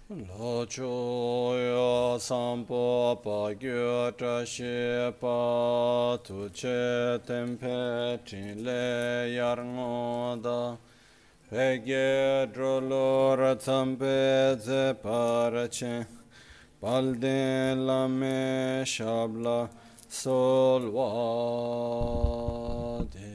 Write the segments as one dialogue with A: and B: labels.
A: Lo cho yo sampo pa gyo tra she pa tu che tempe chin le yar ngo da pe ge dro lo ra tsampe ze par che pal de la me shabla sol wa de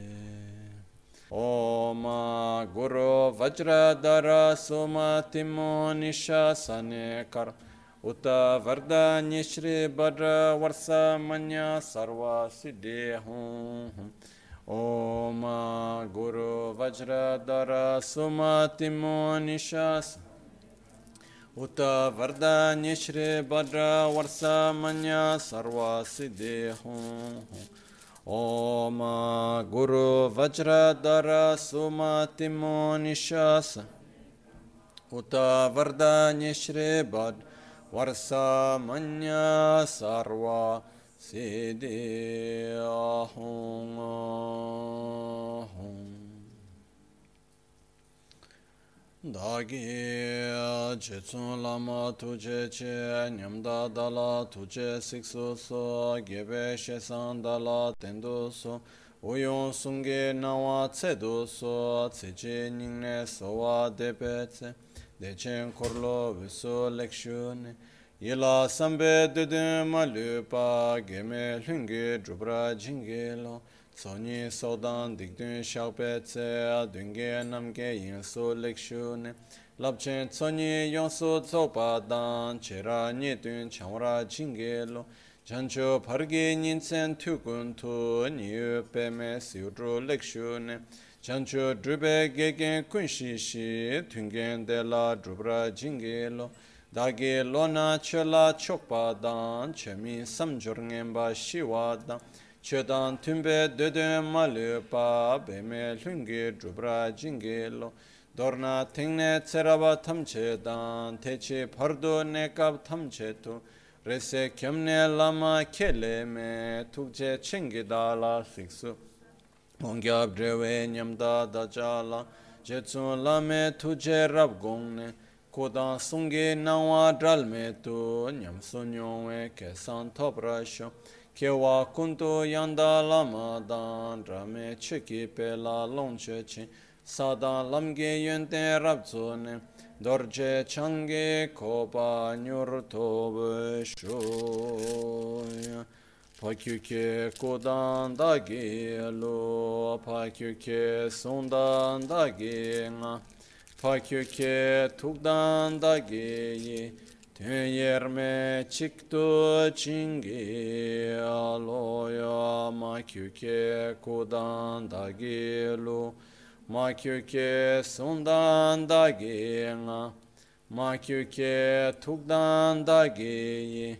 A: Om Guru Vajradhara Sumatimo Nishasane Kar Uta Vardhani Shri Bhadra Varsa Manya Sarva Siddhi Hum Om Guru Vajradhara Sumatimo Nishasane Uta Vardhani Shri Bhadra Varsa Manya Sarva Siddhi Hum Om Guru Vajradhara Sumatimo Nishasa Uta Vardhani Shri Bhad Varsa Manya Sarva Siddhi Ahum Dagi Jetsun Lama Tuje Che Nyamda Dala Tuje Siksu So Gebe Shesan Dala Tendu So Uyon Sunge Nawa Tsedu So Tseche Ningne Sowa Depetse Dechen Korlo Viso Lekshune Yila Sambe Dede Malupa Geme Lunge Drupra Jingelo Soni Sodan Dikdun Shakpe Tse Dunge Namge Yinso Lekshune Lapchen Soni Yonso Tsopa Dan Chera Nidun Chamra Jingelo Jancho Pargi Ninsen Tukun Tu Niyu Peme Siudro Lekshune Jancho Drube Gegen Kunshishi Tungen De La Drupra Jingelo Dagi Lona Chela Chokpa Dan Chemi Samjorngemba Shiwa Dan Chedan Tumbe Dede Malupa Beme Lungi Drupra Jingelo Dorna Tingne Tseraba Tamchedan Techi Pardo Nekab Tamchetu Rese Kyamne Lama Keleme Tukche Chingidala Siksu Ongyab Drewe Nyamda Dajala Jetsun Lame Tuje Rabgongne Kodan Sungi Nawa Dralme Tu Nyamsun Yongwe Kesan Toprasho Kewa Kuntu Yanda Lama Dan Rame Chiki Pela Longche Chi Sadan Lamge Yente Rabzone Dorje Change Kopa Nyur Tobe Shoya Pakyuke Kodan Dagi Lo Pakyuke Sundan Dagi Nga Pakyuke Tukdan Dagi Yerme Chikto Chingi Aloya Makyuke Kodan Dagilu Makyuke Sundan Daginga Makyuke Tukdan Dagi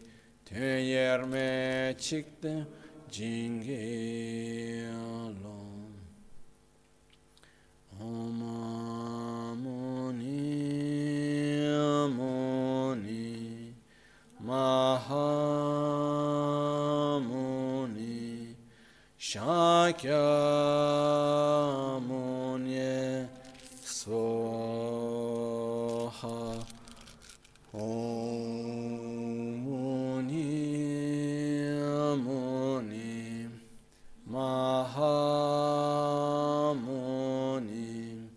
A: Yerme Chikto Chingi Alo Om Muni Mahamuni Shakyamuni Soha Om Muni Mahamuni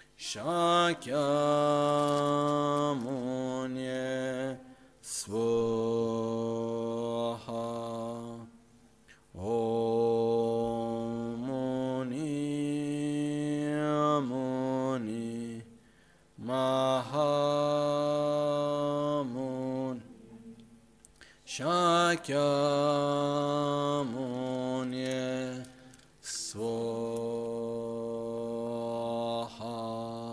A: Shakyamuni Swaha Om Muni Mahamuni Shakyamuni Swaha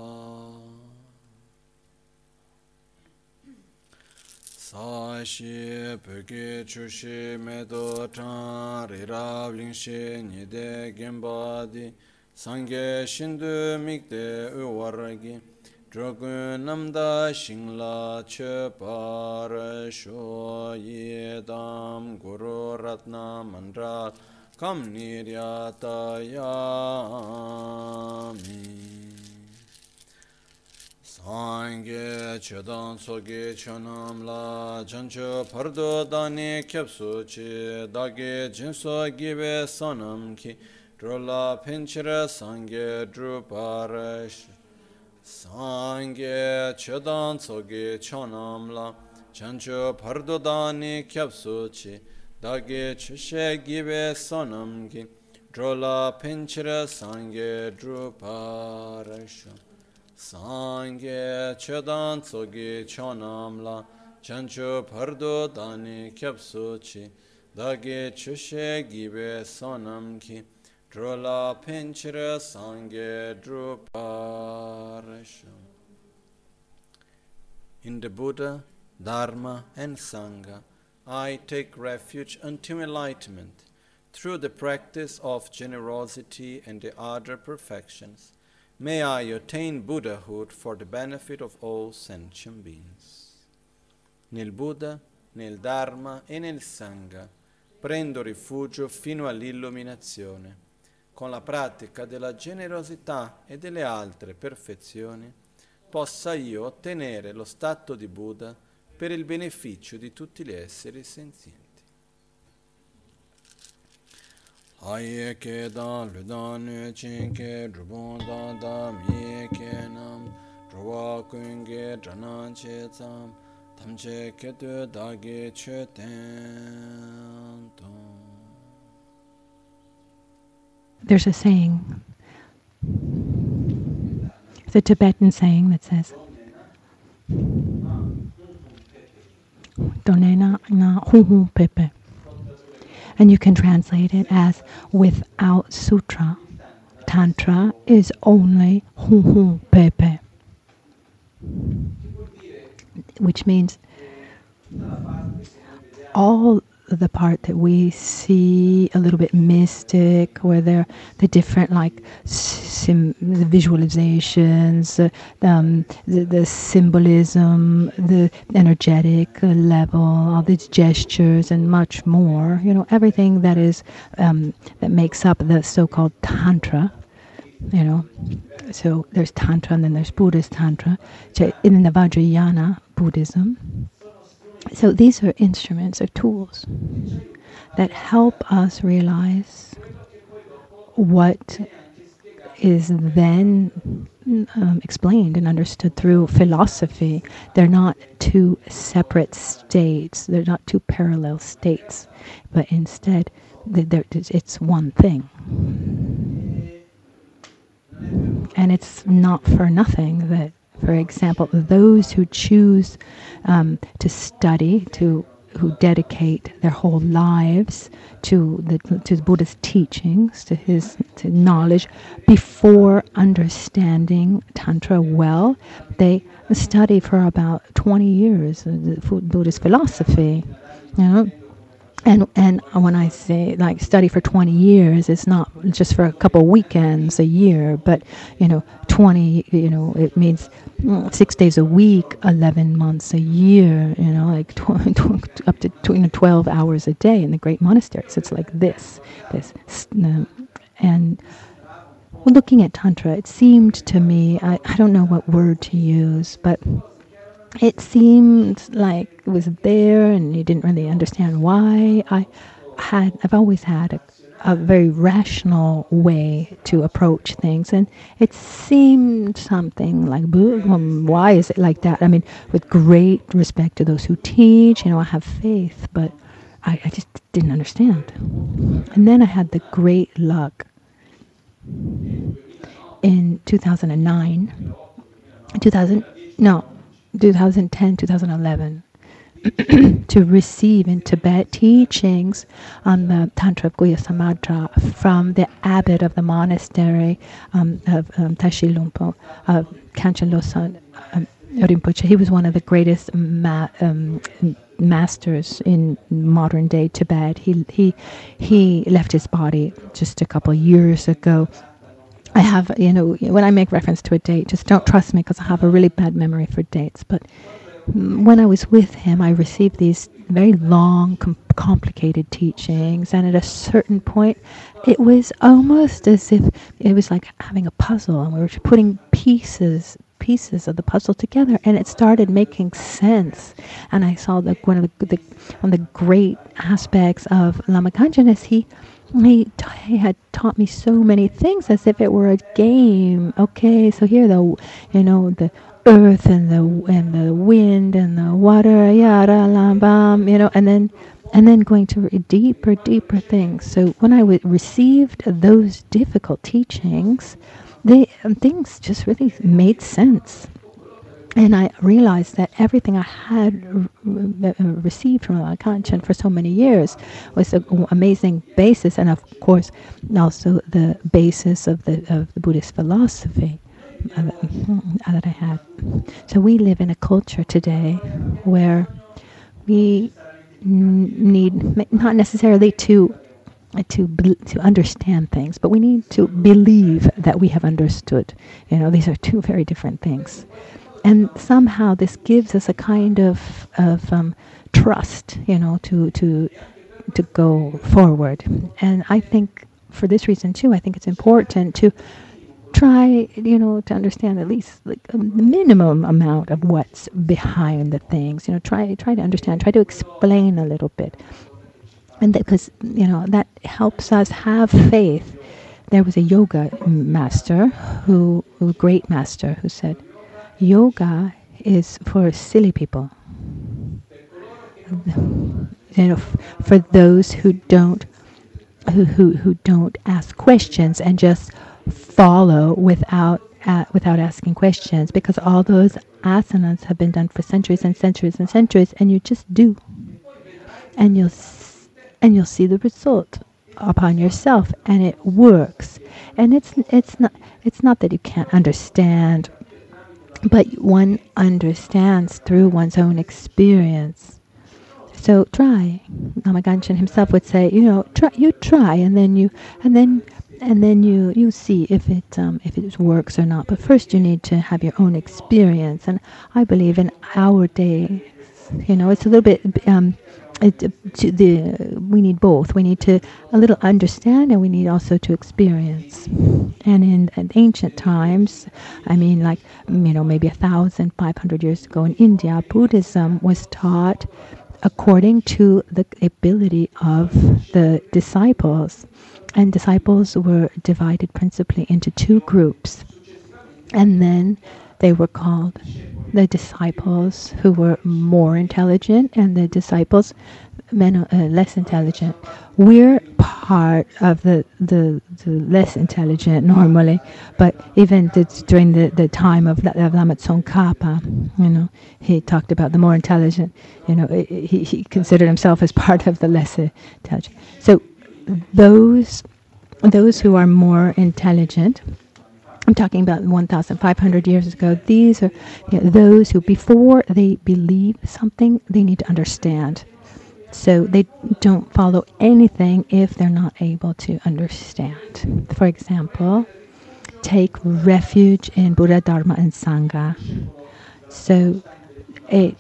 A: Sashi Peki Chushi Medo Chan Rirav Lingshi Nide Gembadi Sangye Shindu Mikde Uwaragi Drogun Namda Shingla Chepar Sho Yedam Guru Ratna Mandral Kam Niryata Yami Sangye chedan soge chonam la jancho pardo dani kyapsu chi dagi jinso gibe sonam ki drola pinchira sangye druparash Sangye chedan soge chonam la jancho pardo dani kyapsu chi dagi chishe gibe sonam ki drola pinchira sangye druparash Sangye chedan tsogi chonam la chancho pardo dani kyapsu chi dagi chushe gibe sonam ki drola pinchira sangye druparasha. In the Buddha, Dharma and Sangha, I take refuge until enlightenment through the practice of generosity and the other perfections. May I attain Buddhahood for the benefit of all sentient beings. Nel Buddha, nel Dharma e nel Sangha prendo rifugio fino all'illuminazione. Con la pratica della generosità e delle altre perfezioni possa io ottenere lo stato di Buddha per il beneficio di tutti gli esseri senzienti. Aye ke da lu da nu chin ke drubon da da mi ke nam drwa kun ge drana che tsam tam che ke tu da ge che ten ton.
B: There's a saying, it's a Tibetan saying that says, Donena na hu hu pepe. And you can translate it as without sutra. Tantra is only hu hu pepe. Which means all the part that we see a little bit mystic, where there the different like the visualizations, the symbolism, the energetic level, all these gestures, and much more. You know, everything that is that makes up the so-called tantra. You know, so there's tantra and then there's Buddhist tantra. So in the Vajrayana Buddhism. So these are instruments or tools that help us realize what is then explained and understood through philosophy. They're not two separate states. They're not two parallel states, but instead it's one thing. And it's not for nothing that, for example, those who choose to study, who dedicate their whole lives to the Buddha's teachings, to knowledge, before understanding Tantra well, they study for about 20 years the Buddhist philosophy. You know? And when I say like study for 20 years, it's not just for a couple of weekends a year, but 20. It means 6 days a week, 11 months a year. Like up to 12 hours a day in the great monasteries. It's like this, and looking at Tantra, it seemed to me, I don't know what word to use, but it seemed like it was there, and you didn't really understand why. I've always had a very rational way to approach things, and it seemed something like, why is it like that? I mean, with great respect to those who teach, I have faith, but I just didn't understand. And then I had the great luck in 2010, 2011, to receive in Tibet teachings on the Tantra of Guhya Samadra from the abbot of the monastery of Tashi Lumpo, Kanchen Losang Rinpoche. He was one of the greatest masters in modern day Tibet. He left his body just a couple of years ago. I have, when I make reference to a date, just don't trust me because I have a really bad memory for dates. But when I was with him, I received these very long, complicated teachings. And at a certain point, it was almost as if it was like having a puzzle. And we were putting pieces pieces of the puzzle together, and it started making sense. And I saw that one of the great aspects of Lama Kanchen is he had taught me so many things as if it were a game. Okay, so here the earth and the wind and the water, yada lambam, and then going to deeper things. So when I received those difficult teachings, things just really made sense. And I realized that everything I had received from Lama Kanchen for so many years was an amazing basis, and of course also the basis of the Buddhist philosophy that I had. So we live in a culture today where we need not necessarily to understand things, but we need to believe that we have understood. These are two very different things. And somehow this gives us a kind of trust, to go forward. And I think for this reason too, I think it's important to try, to understand at least like a minimum amount of what's behind the things. Try to understand, try to explain a little bit, and because that helps us have faith. There was a yoga master great master, who said, yoga is for silly people. For those who don't ask questions and just follow without asking questions, because all those asanas have been done for centuries and centuries and centuries, and you just do, and you'll see the result upon yourself, and it works. And it's not that you can't understand, but one understands through one's own experience. So try. Lama Kanchen himself would say, try, and then you see if it works or not. But first you need to have your own experience. And I believe in our days, it's a little bit. We need both. We need to a little understand, and we need also to experience. And in ancient times, maybe 1,500 years ago in India, Buddhism was taught according to the ability of the disciples. And disciples were divided principally into two groups. And then they were called the disciples who were more intelligent and the disciples less intelligent. We're part of the less intelligent normally, but even during the time of Lama Tsongkhapa, he talked about the more intelligent. He considered himself as part of the less intelligent. So those who are more intelligent, I'm talking about 1,500 years ago, these are those who, before they believe something, they need to understand. So they don't follow anything if they're not able to understand. For example, take refuge in Buddha, Dharma, and Sangha. So a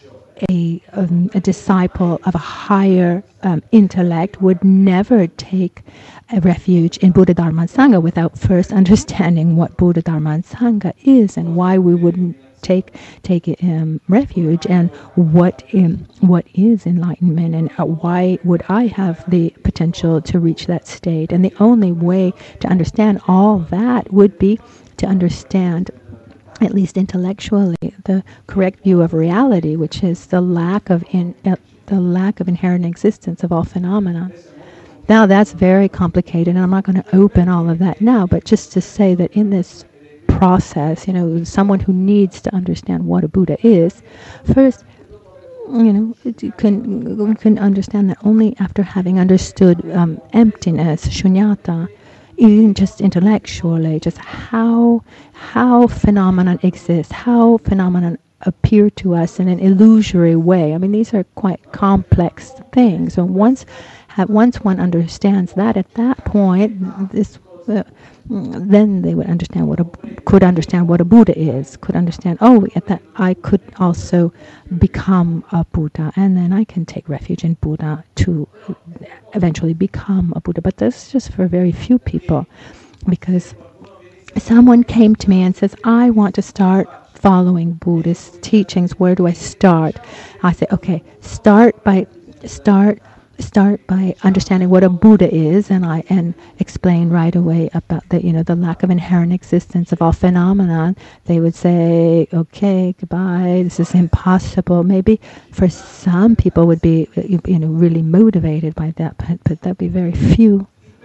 B: disciple of a higher intellect would never take a refuge in Buddha, Dharma, and Sangha without first understanding what Buddha, Dharma, and Sangha is, and why we wouldn't take refuge, and what is enlightenment, and why would I have the potential to reach that state. And the only way to understand all that would be to understand, at least intellectually, the correct view of reality, which is the lack of inherent existence of all phenomena. Now that's very complicated, and I'm not going to open all of that now, but just to say that in this process, someone who needs to understand what a Buddha is, first, you can understand that only after having understood emptiness, shunyata, even just intellectually, just how phenomenon exists, how phenomenon appear to us in an illusory way. These are quite complex things. So once one understands that, at that point, then they would understand could understand what a Buddha is. Could understand. At that I could also become a Buddha, and then I can take refuge in Buddha to eventually become a Buddha. But that's just for very few people, because someone came to me and says, I want to start following Buddhist teachings, where do I start? I say, okay, start by understanding what a Buddha is, and explain right away about the lack of inherent existence of all phenomena. They would say, okay, goodbye, this is impossible. Maybe for some people would be really motivated by that, but that'd be very few.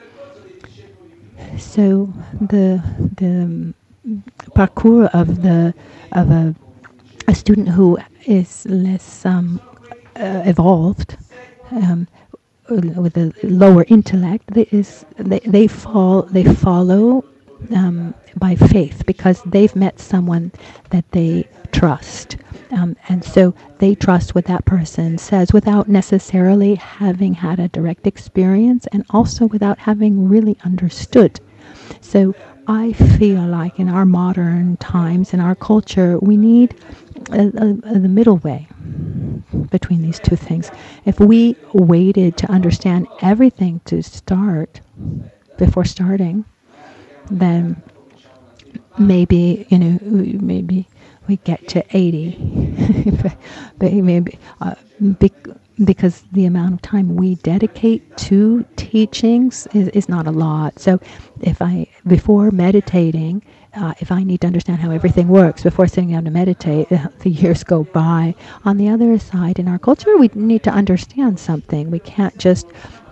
B: So the parkour of a student who is less evolved, with a lower intellect, they follow by faith, because they've met someone that they trust, and so they trust what that person says without necessarily having had a direct experience, and also without having really understood. So I feel like in our modern times, in our culture, we need the middle way between these two things. If we waited to understand everything to start before starting, then maybe we get to 80, but maybe because the amount of time we dedicate to teachings is not a lot. So before meditating, if I need to understand how everything works before sitting down to meditate, the years go by. On the other side, in our culture, we need to understand something. We can't just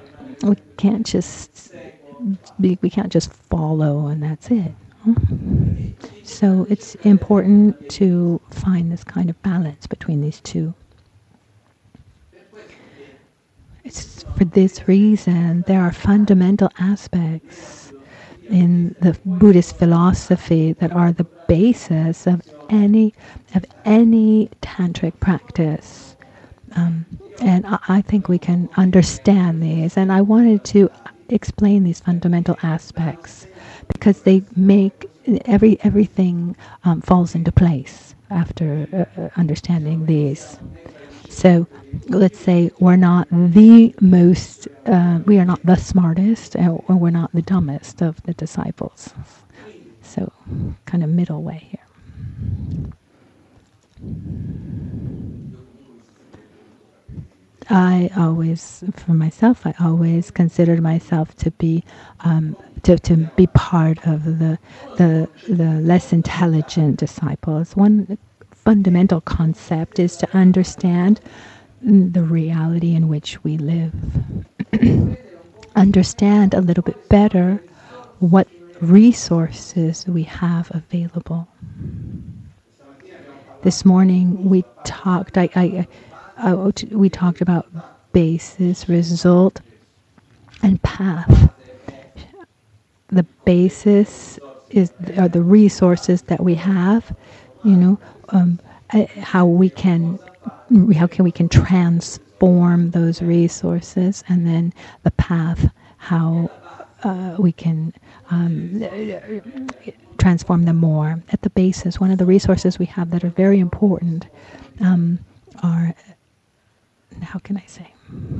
B: follow and that's it. So it's important to find this kind of balance between these two. It's for this reason there are fundamental aspects in the Buddhist philosophy that are the basis of any tantric practice, and I think we can understand these. And I wanted to explain these fundamental aspects because they make everything falls into place after understanding these. So let's say we're not the most, we are not the smartest, or we're not the dumbest of the disciples. So kind of middle way here. For myself, I always considered myself to be to be part of the less intelligent disciples. One fundamental concept is to understand the reality in which we live. Understand a little bit better what resources we have available. This morning we talked. We talked about basis, result, and path. The basis are the resources that we have. How we can transform those resources, and then the path, how we can transform them more. At the basis, one of the resources we have that are very important are, how can I say,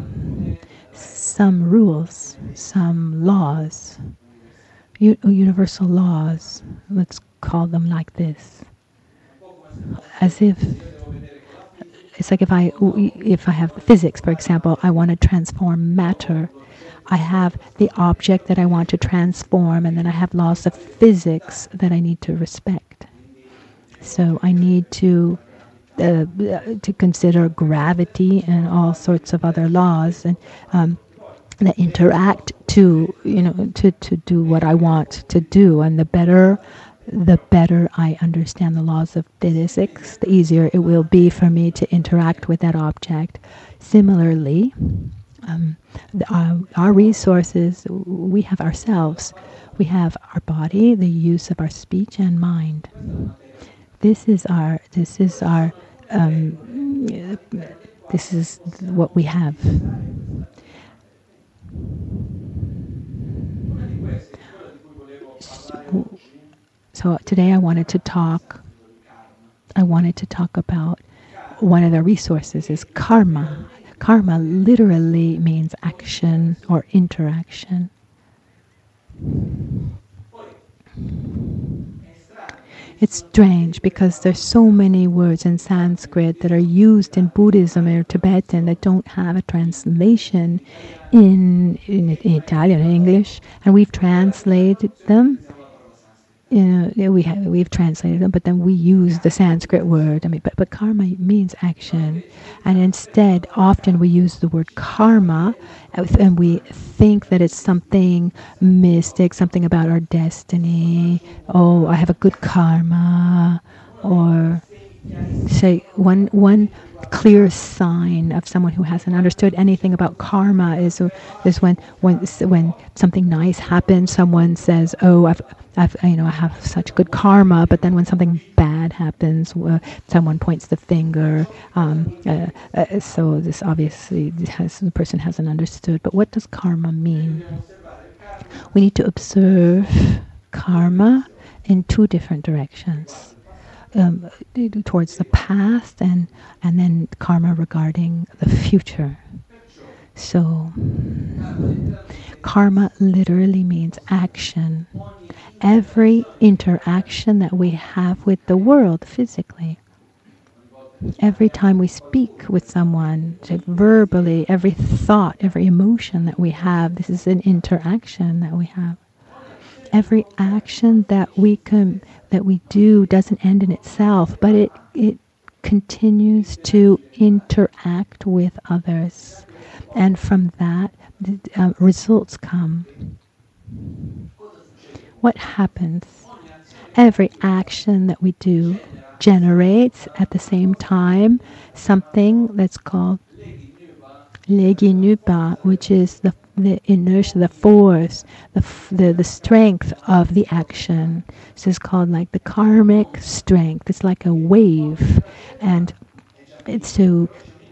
B: some rules, some laws, universal laws. Let's call them like this. As if it's like if I have physics, for example, I want to transform matter. I have the object that I want to transform, and then I have laws of physics that I need to respect. So I need to consider gravity and all sorts of other laws, and that interact to do what I want to do. And the better I understand the laws of physics, the easier it will be for me to interact with that object. Similarly, our resources, we have ourselves. We have our body, the use of our speech and mind. This is what we have. So today I wanted to talk about one of the resources is karma. Karma literally means action or interaction. It's strange because there's so many words in Sanskrit that are used in Buddhism or Tibetan that don't have a translation in Italian and English, and we've translated them. We've translated them, but then we use the Sanskrit word. I mean, but karma means action, and instead, often we use the word karma, and we think that it's something mystic, something about our destiny. Oh, I have a good karma, or say one clear sign of someone who hasn't understood anything about karma is when something nice happens. Someone says, "Oh, I have such good karma," but then when something bad happens, someone points the finger. So this obviously the person hasn't understood. But what does karma mean? We need to observe karma in two different directions. Towards the past and then karma regarding the future. So karma literally means action. Every interaction that we have with the world physically. Every time we speak with someone, verbally, every thought, every emotion that we have, this is an interaction that we have. Every action that we do doesn't end in itself, but it continues to interact with others, and from that results come. What happens? Every action that we do generates at the same time something that's called Leginupa, which is the inertia, the force, the strength of the action. So it's called like the karmic strength. It's like a wave, and it's so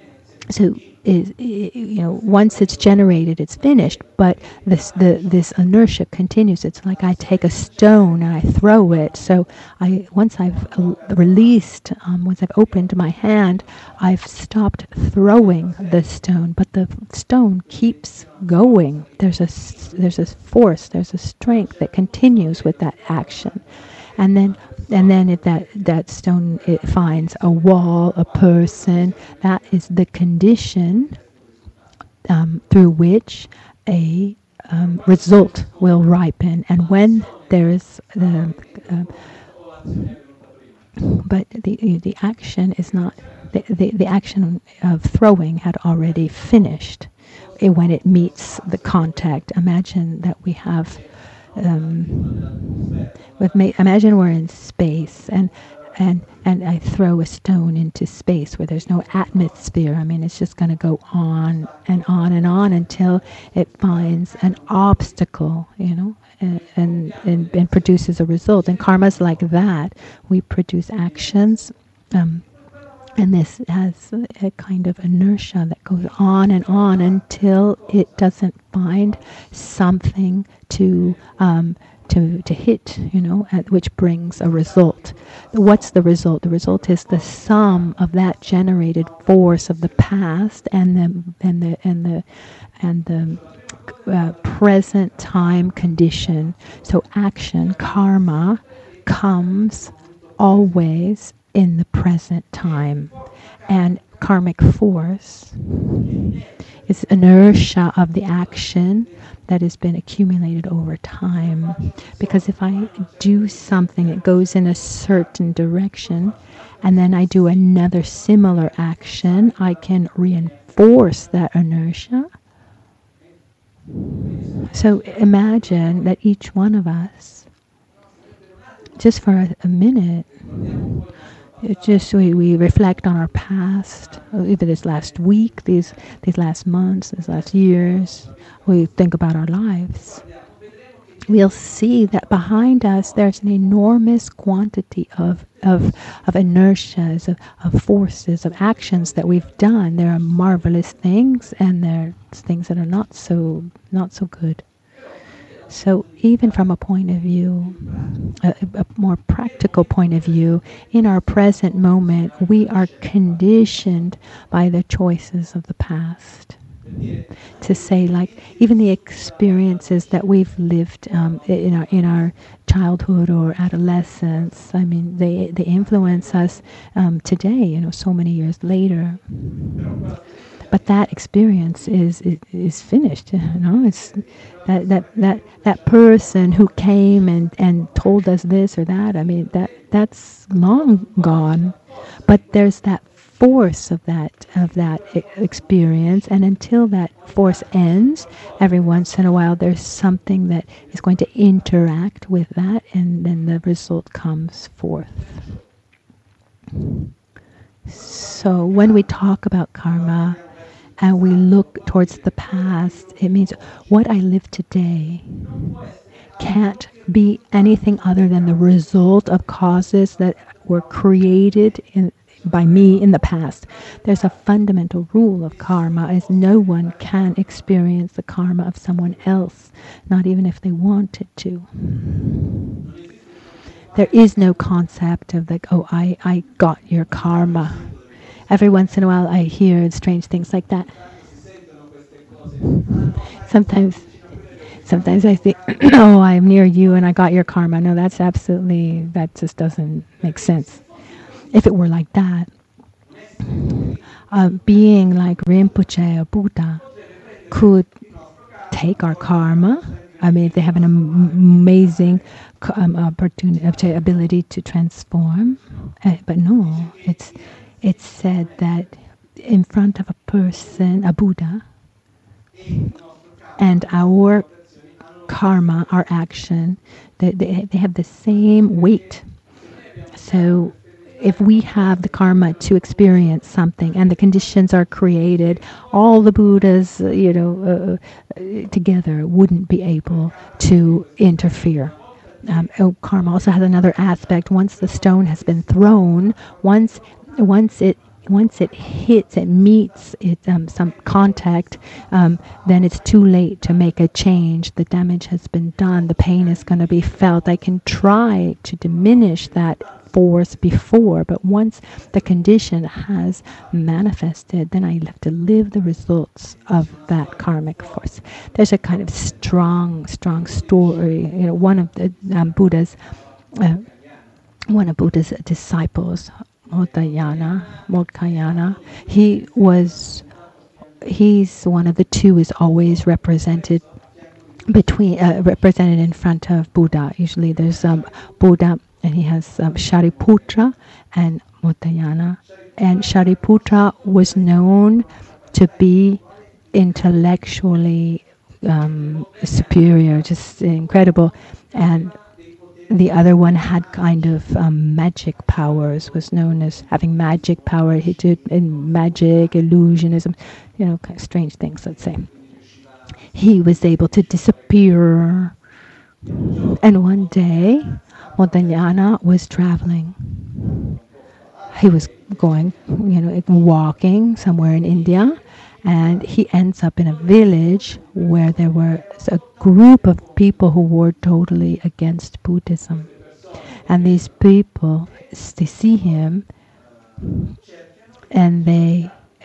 B: once it's generated, it's finished. But this inertia continues. It's like I take a stone and I throw it. So once I've released, once I've opened my hand, I've stopped throwing the stone, but the stone keeps going. There's a force, there's a strength that continues with that action. And then if that stone, it finds a wall, a person, that is the condition through which a result will ripen. And when there's but the action is not, the action of throwing had already finished when it meets the contact. Imagine that we have imagine we're in space and I throw a stone into space where there's no atmosphere. I mean, it's just going to go on and on and on until it finds an obstacle, and produces a result. And karma's like that. We produce actions, and this has a kind of inertia that goes on and on until it doesn't find something to hit, which brings a result. What's the result? The result is the sum of that generated force of the past and the present time condition. So action, karma, comes always in the present time, and karmic force is inertia of the action that has been accumulated over time. Because if I do something, it goes in a certain direction, and then I do another similar action, I can reinforce that inertia. So imagine that each one of us, just for a minute, we reflect on our past, either this last week, these last months, these last years. We think about our lives. We'll see that behind us there's an enormous quantity of inertias, of forces, of actions that we've done. There are marvelous things, and there are things that are not so good. So even from a point of view, a more practical point of view, in our present moment, we are conditioned by the choices of the past. to say, like, even the experiences that we've lived in our childhood or adolescence, I mean, they influence us today, so many years later. But that experience is finished. It's that person who came and told us this or that. I mean, that's long gone. But there's that force of that experience, and until that force ends, every once in a while there's something that is going to interact with that, and then the result comes forth. So when we talk about karma and we look towards the past, it means what I live today can't be anything other than the result of causes that were created by me in the past. There's a fundamental rule of karma, is no one can experience the karma of someone else, not even if they wanted to. There is no concept of like, oh, I got your karma. Every once in a while I hear strange things like that. Sometimes I think, oh, I'm near you and I got your karma. No, that just doesn't make sense. If it were like that, being like Rinpoche or Buddha could take our karma. I mean, they have an amazing ability to transform. But no, it's said that in front of a person, a Buddha, and our karma, our action, they have the same weight. So if we have the karma to experience something and the conditions are created, all the Buddhas, together wouldn't be able to interfere. Karma also has another aspect. Once the stone has been thrown, once it hits, it meets some contact, then it's too late to make a change. The damage has been done. The pain is going to be felt. I can try to diminish that force before, but once the condition has manifested, then I have to live the results of that karmic force. There's a kind of strong story. One of the Buddha's disciples, Modkayana, he's one of the two is always represented in front of Buddha. Usually there's Buddha, and he has Shariputra and Modkayana. And Shariputra was known to be intellectually superior, just incredible, and the other one had kind of magic powers, was known as having magic power. He did in magic, illusionism, kind of strange things, let's say. He was able to disappear. And one day, Modkayana was traveling. He was going, walking somewhere in India, and he ends up in a village where there was a group of people who were totally against Buddhism. And these people, they see him, and they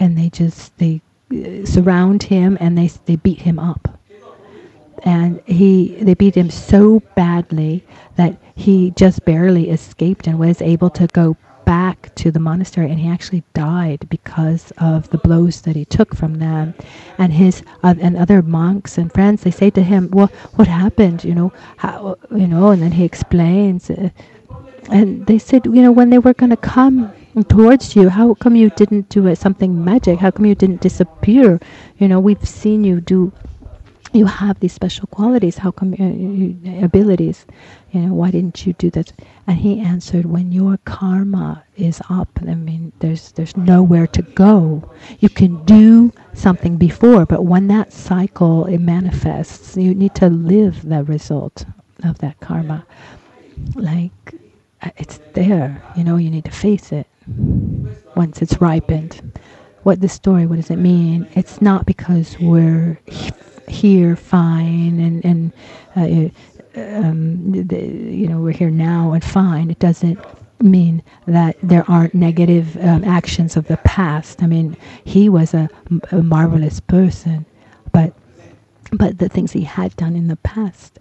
B: surround him, and they beat him up. And they beat him so badly that he just barely escaped and was able to go back to the monastery, and he actually died because of the blows that he took from them. And his and other monks and friends, they say to him, "Well, what happened? How? And then he explains, and they said, when they were going to come towards you, how come you didn't do something magic? How come you didn't disappear? We've seen you do. You have these special qualities. How come abilities? Why didn't you do that?" And he answered, "When your karma is up, I mean, there's nowhere to go. You can do something before, but when that cycle it manifests, you need to live the result of that karma. Like it's there. You need to face it once it's ripened." What does it mean? It's not because we're here fine and we're here now and fine. It doesn't mean that there aren't negative actions of the past. I mean, he was a marvelous person, but the things he had done in the past,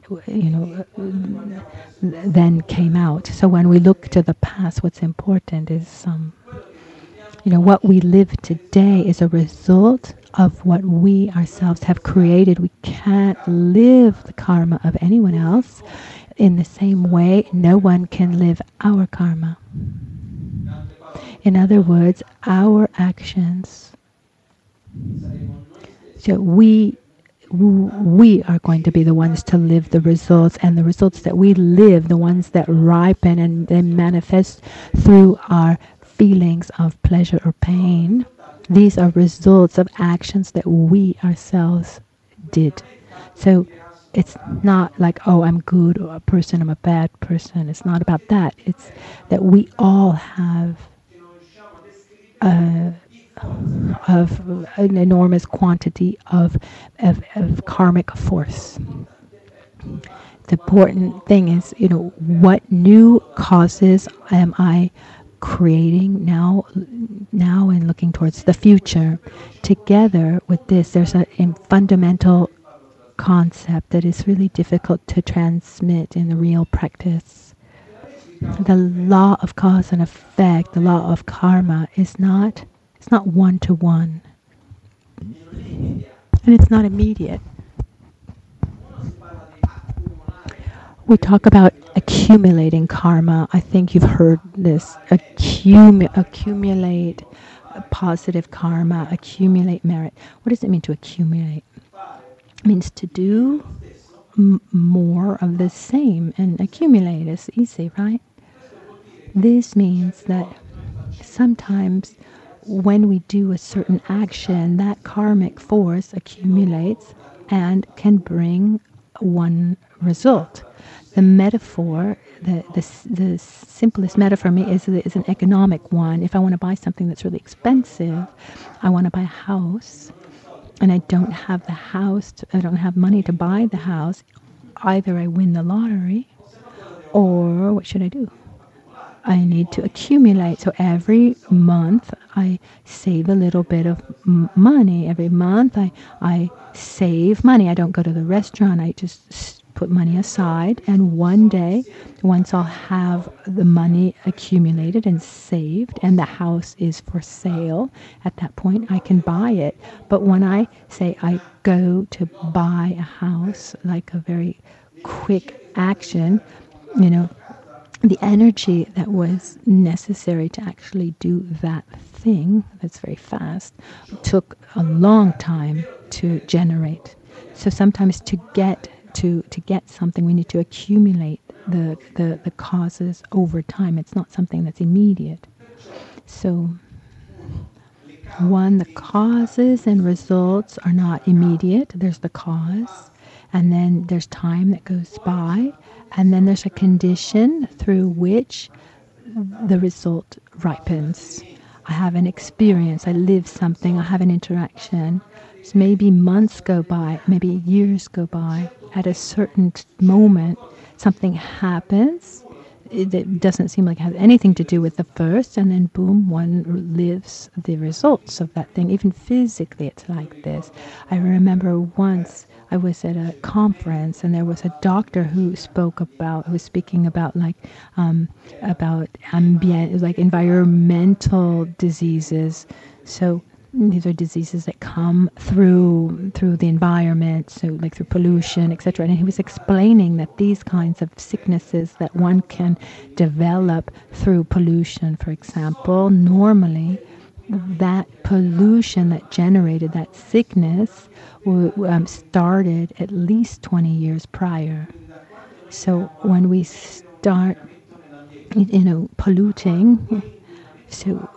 B: then came out. So when we look to the past, what's important is, what we live today is a result of what we ourselves have created. We can't live the karma of anyone else. In the same way, no one can live our karma. In other words, our actions. So we are going to be the ones to live the results, and the results that we live, the ones that ripen and then manifest through our feelings of pleasure or pain, these are results of actions that we ourselves did. So it's not like, oh, I'm good or a person, I'm a bad person. It's not about that. It's that we all have of an enormous quantity of karmic force. The important thing is, what new causes am I creating now and looking towards the future. Together with this, there's a fundamental concept that is really difficult to transmit in the real practice. The law of cause and effect, the law of karma, is not one-to-one. And it's not immediate. We talk about accumulating karma. I think you've heard this. Accumulate positive karma, accumulate merit. What does it mean to accumulate? It means to do more of the same, and accumulate is easy, right? This means that sometimes when we do a certain action, that karmic force accumulates and can bring one result. The metaphor, the simplest metaphor for me is an economic one. If I want to buy something that's really expensive, I want to buy a house, and I don't have the house, I don't have money to buy the house, either I win the lottery, or what should I do? I need to accumulate. So every month I save a little bit of money. Every month I save money. I don't go to the restaurant. I just put money aside. And one day, once I'll have the money accumulated and saved and the house is for sale, at that point I can buy it. But when I say I go to buy a house, like a very quick action, the energy that was necessary to actually do that thing that's very fast took a long time to generate. So sometimes to get something, we need to accumulate the causes over time. It's not something that's immediate. So the causes and results are not immediate. There's the cause, and then there's time that goes by, and then there's a condition through which the result ripens. I have an experience, I live something, I have an interaction. So maybe months go by, maybe years go by. At a certain moment, something happens. It doesn't seem like it has anything to do with the first, and then boom, one lives the results of that thing. Even physically, it's like this. I remember once I was at a conference, and there was a doctor who was speaking about ambient, it was like environmental diseases. So these are diseases that come through the environment, so like through pollution, etc. And he was explaining that these kinds of sicknesses that one can develop through pollution, for example, normally that pollution that generated that sickness started at least 20 years prior. So when we start, polluting, so,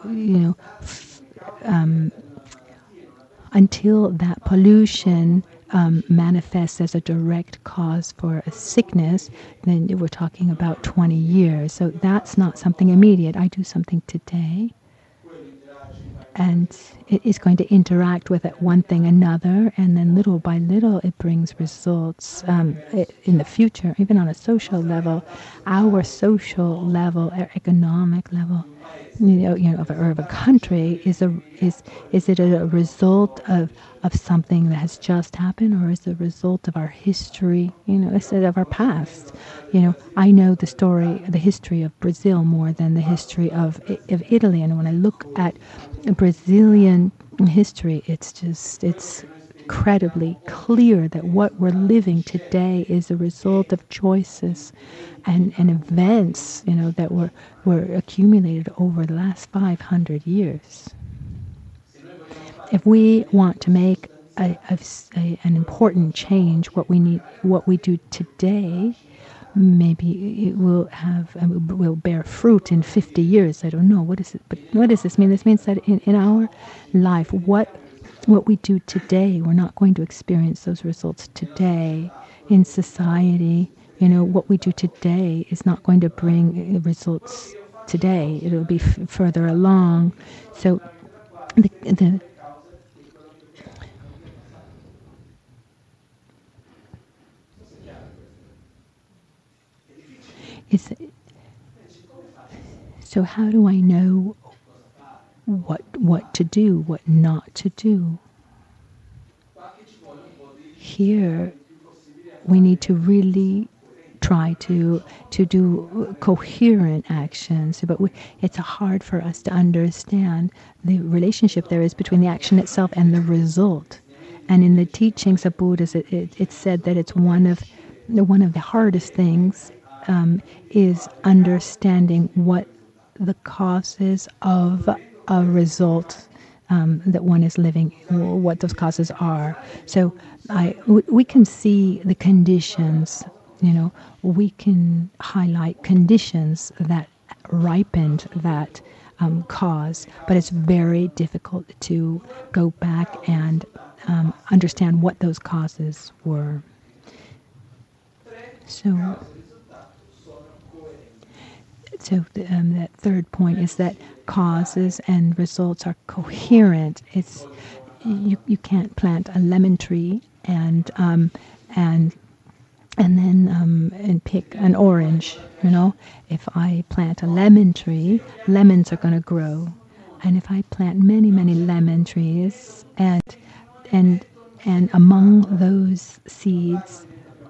B: until that pollution manifests as a direct cause for a sickness, then we're talking about 20 years. So that's not something immediate. I do something today, and it is going to interact with it, one thing another, and then little by little it brings results in the future, even on a social level, our social level, our economic level, of a country is it a result of something that has just happened, or is it a result of our history? Is it of our past? I know the history of Brazil more than the history of Italy, and when I look at Brazilian history, it's incredibly clear that what we're living today is a result of choices and events, that were accumulated over the last 500 years. If we want to make an important change, what we do today, maybe it will bear fruit in 50 years. I don't know. What is it? But what does this mean? This means that in our life, what we do today, we're not going to experience those results today in society. What we do today is not going to bring results today. It'll be further along. So so how do I know what to do, what not to do? Here, we need to really try to do coherent actions, but it's hard for us to understand the relationship there is between the action itself and the result. And in the teachings of Buddhists, it's said that it's one of the hardest things is understanding what the causes of a result that one is living, what those causes are. So we can see the conditions, we can highlight conditions that ripened that cause, but it's very difficult to go back and understand what those causes were. So that third point is that causes and results are coherent. It's you can't plant a lemon tree and pick an orange. If I plant a lemon tree, lemons are going to grow, and if I plant many lemon trees and among those seeds,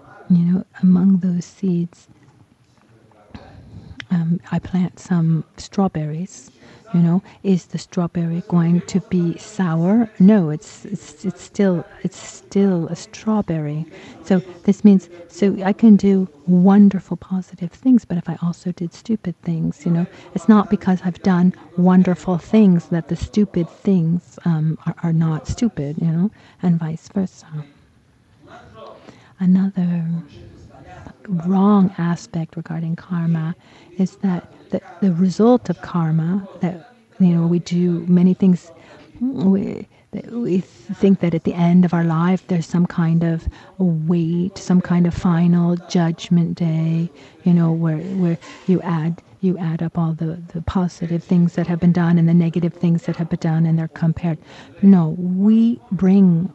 B: I plant some strawberries. Is the strawberry going to be sour? No, it's still a strawberry. So this means I can do wonderful positive things, but if I also did stupid things, it's not because I've done wonderful things that the stupid things are not stupid, and vice versa. Another wrong aspect regarding karma is that the result of karma, that we do many things, we think that at the end of our life there's some kind of weight, some kind of final judgment day, where you add up all the positive things that have been done and the negative things that have been done, and they're compared. No, we bring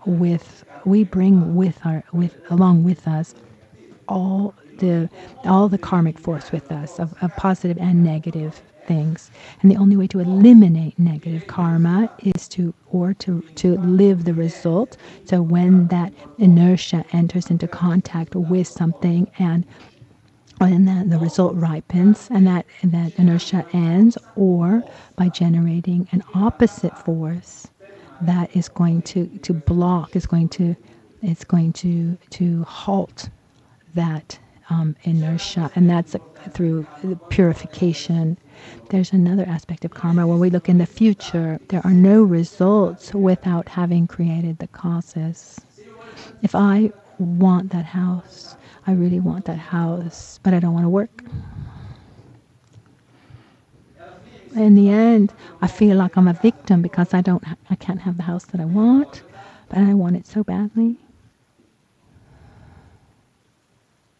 B: along with us all the karmic force with us of positive and negative things, and the only way to eliminate negative karma is to live the result. So when that inertia enters into contact with something, and then the result ripens, and that inertia ends, or by generating an opposite force that is going to block, is going to halt that inertia, and that's through purification. There's another aspect of karma. When we look in the future, there are no results without having created the causes. If I want that house, I really want that house, but I don't want to work. In the end, I feel like I'm a victim because I can't have the house that I want, but I want it so badly.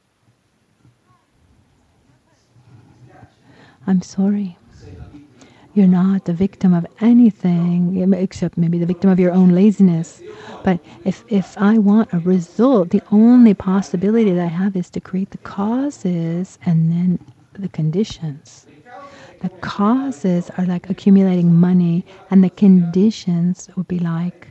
B: I'm sorry. You're not the victim of anything except maybe the victim of your own laziness. But if I want a result, the only possibility that I have is to create the causes and then the conditions. The causes are like accumulating money, and the conditions would be like,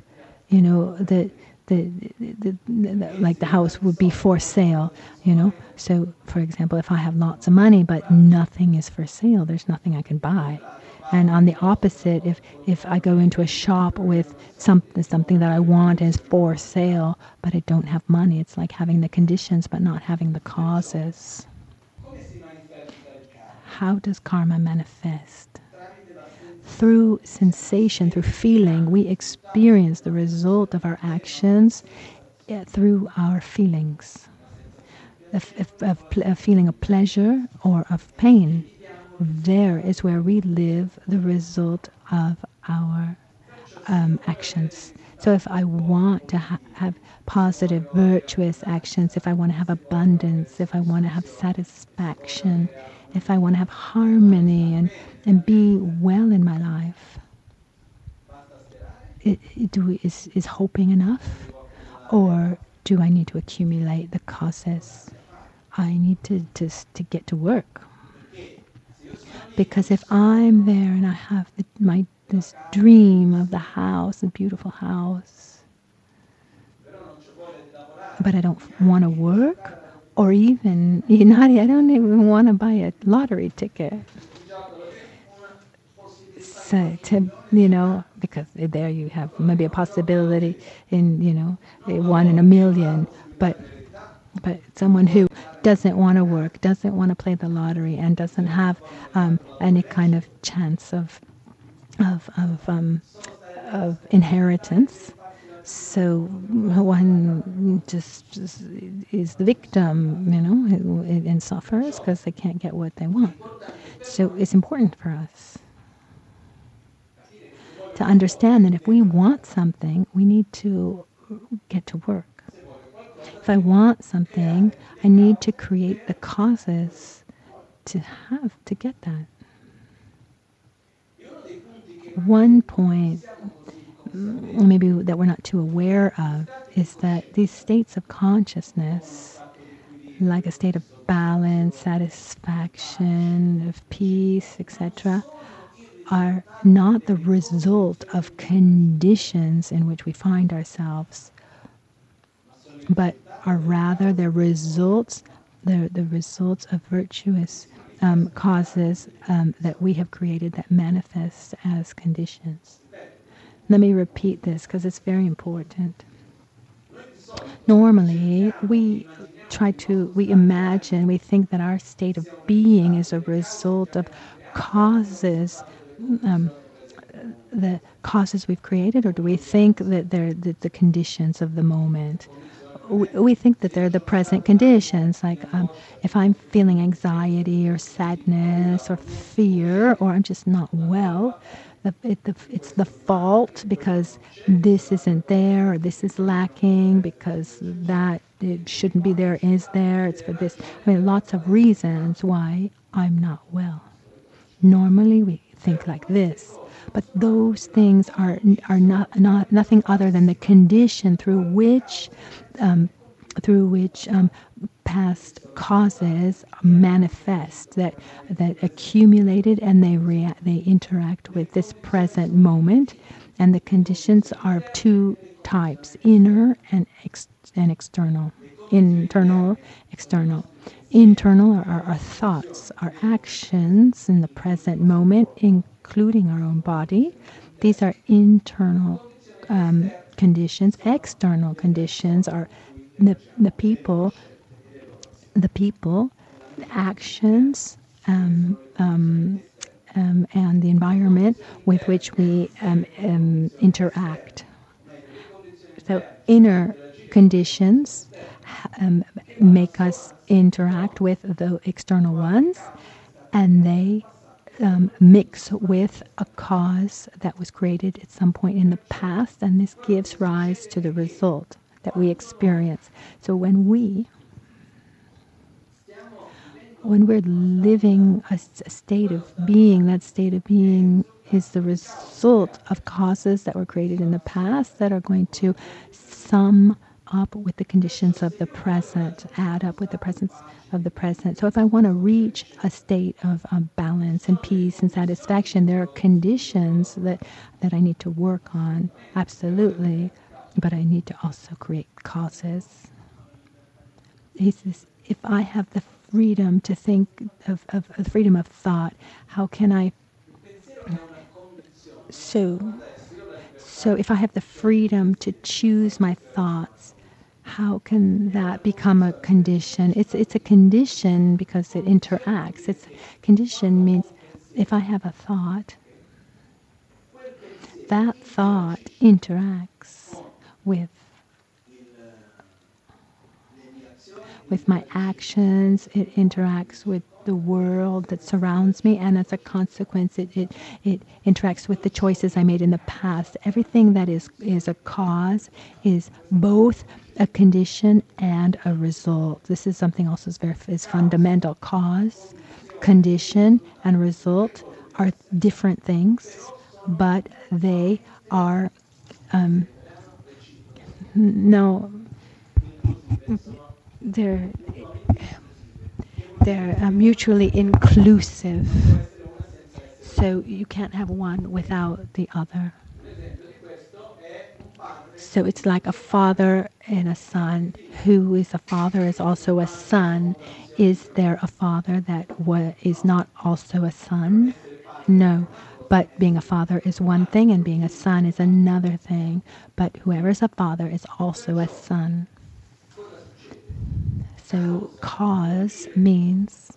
B: like the house would be for sale, So, for example, if I have lots of money but nothing is for sale, there's nothing I can buy. And on the opposite, if I go into a shop with something that I want is for sale, but I don't have money, it's like having the conditions but not having the causes. How does karma manifest? Through sensation, through feeling, we experience the result of our actions through our feelings. A feeling of pleasure or of pain. There is where we live the result of our actions. So if I want to have positive, virtuous actions, if I want to have abundance, if I want to have satisfaction, if I want to have harmony and be well in my life, is hoping enough? Or do I need to accumulate the causes? I need to get to work. Because if I'm there and I have this dream of the house, a beautiful house, but I don't want to work, or even, I don't even want to buy a lottery ticket. So, because there you have maybe a possibility in, 1 in a million, but someone who doesn't want to work, doesn't want to play the lottery, and doesn't have any kind of chance of inheritance. So one just is the victim, and suffers because they can't get what they want. So it's important for us to understand that if we want something, we need to get to work. If I want something, I need to create the causes to get that. One point maybe that we're not too aware of is that these states of consciousness, like a state of balance, satisfaction, of peace, etc., are not the result of conditions in which we find ourselves, but are rather the results of virtuous causes that we have created that manifest as conditions. Let me repeat this because it's very important. Normally, we imagine, we think that our state of being is a result of causes, the causes we've created, or do we think that they're the conditions of the moment? We think that they're the present conditions, like if I'm feeling anxiety or sadness or fear, or I'm just not well, it's the fault because this isn't there, or this is lacking because that it shouldn't be there is there. It's for this. Lots of reasons why I'm not well. Normally we think like this, but those things are not nothing other than the condition through which past causes manifest, that accumulated, and they interact with this present moment. And the conditions are of two types: inner and external. Internal, external. Internal are our thoughts, our actions in the present moment, including our own body. These are internal conditions. External conditions are the people, the actions, and the environment with which we interact. So inner conditions make us interact with the external ones, and they mix with a cause that was created at some point in the past, and this gives rise to the result that we experience. So when we when we're living a state of being, that state of being is the result of causes that were created in the past that are going to sum up with the conditions of the present, add up with the presence of the present. So if I want to reach a state of balance and peace and satisfaction, there are conditions that I need to work on, absolutely, but I need to also create causes. He says, if I have the freedom to think of freedom of thought, how can I? So if I have the freedom to choose my thoughts, how can that become a condition? It's a condition because it interacts. It's condition means if I have a thought, that thought interacts with my actions. It interacts with the world that surrounds me, and as a consequence, it interacts with the choices I made in the past. Everything that is a cause is both a condition and a result. This is something else is fundamental. Cause, condition, and result are different things, but they are they're mutually inclusive. So you can't have one without the other. So it's like a father and a son. Who is a father is also a son. Is there a father that is not also a son? No. But being a father is one thing and being a son is another thing. But whoever is a father is also a son. So cause means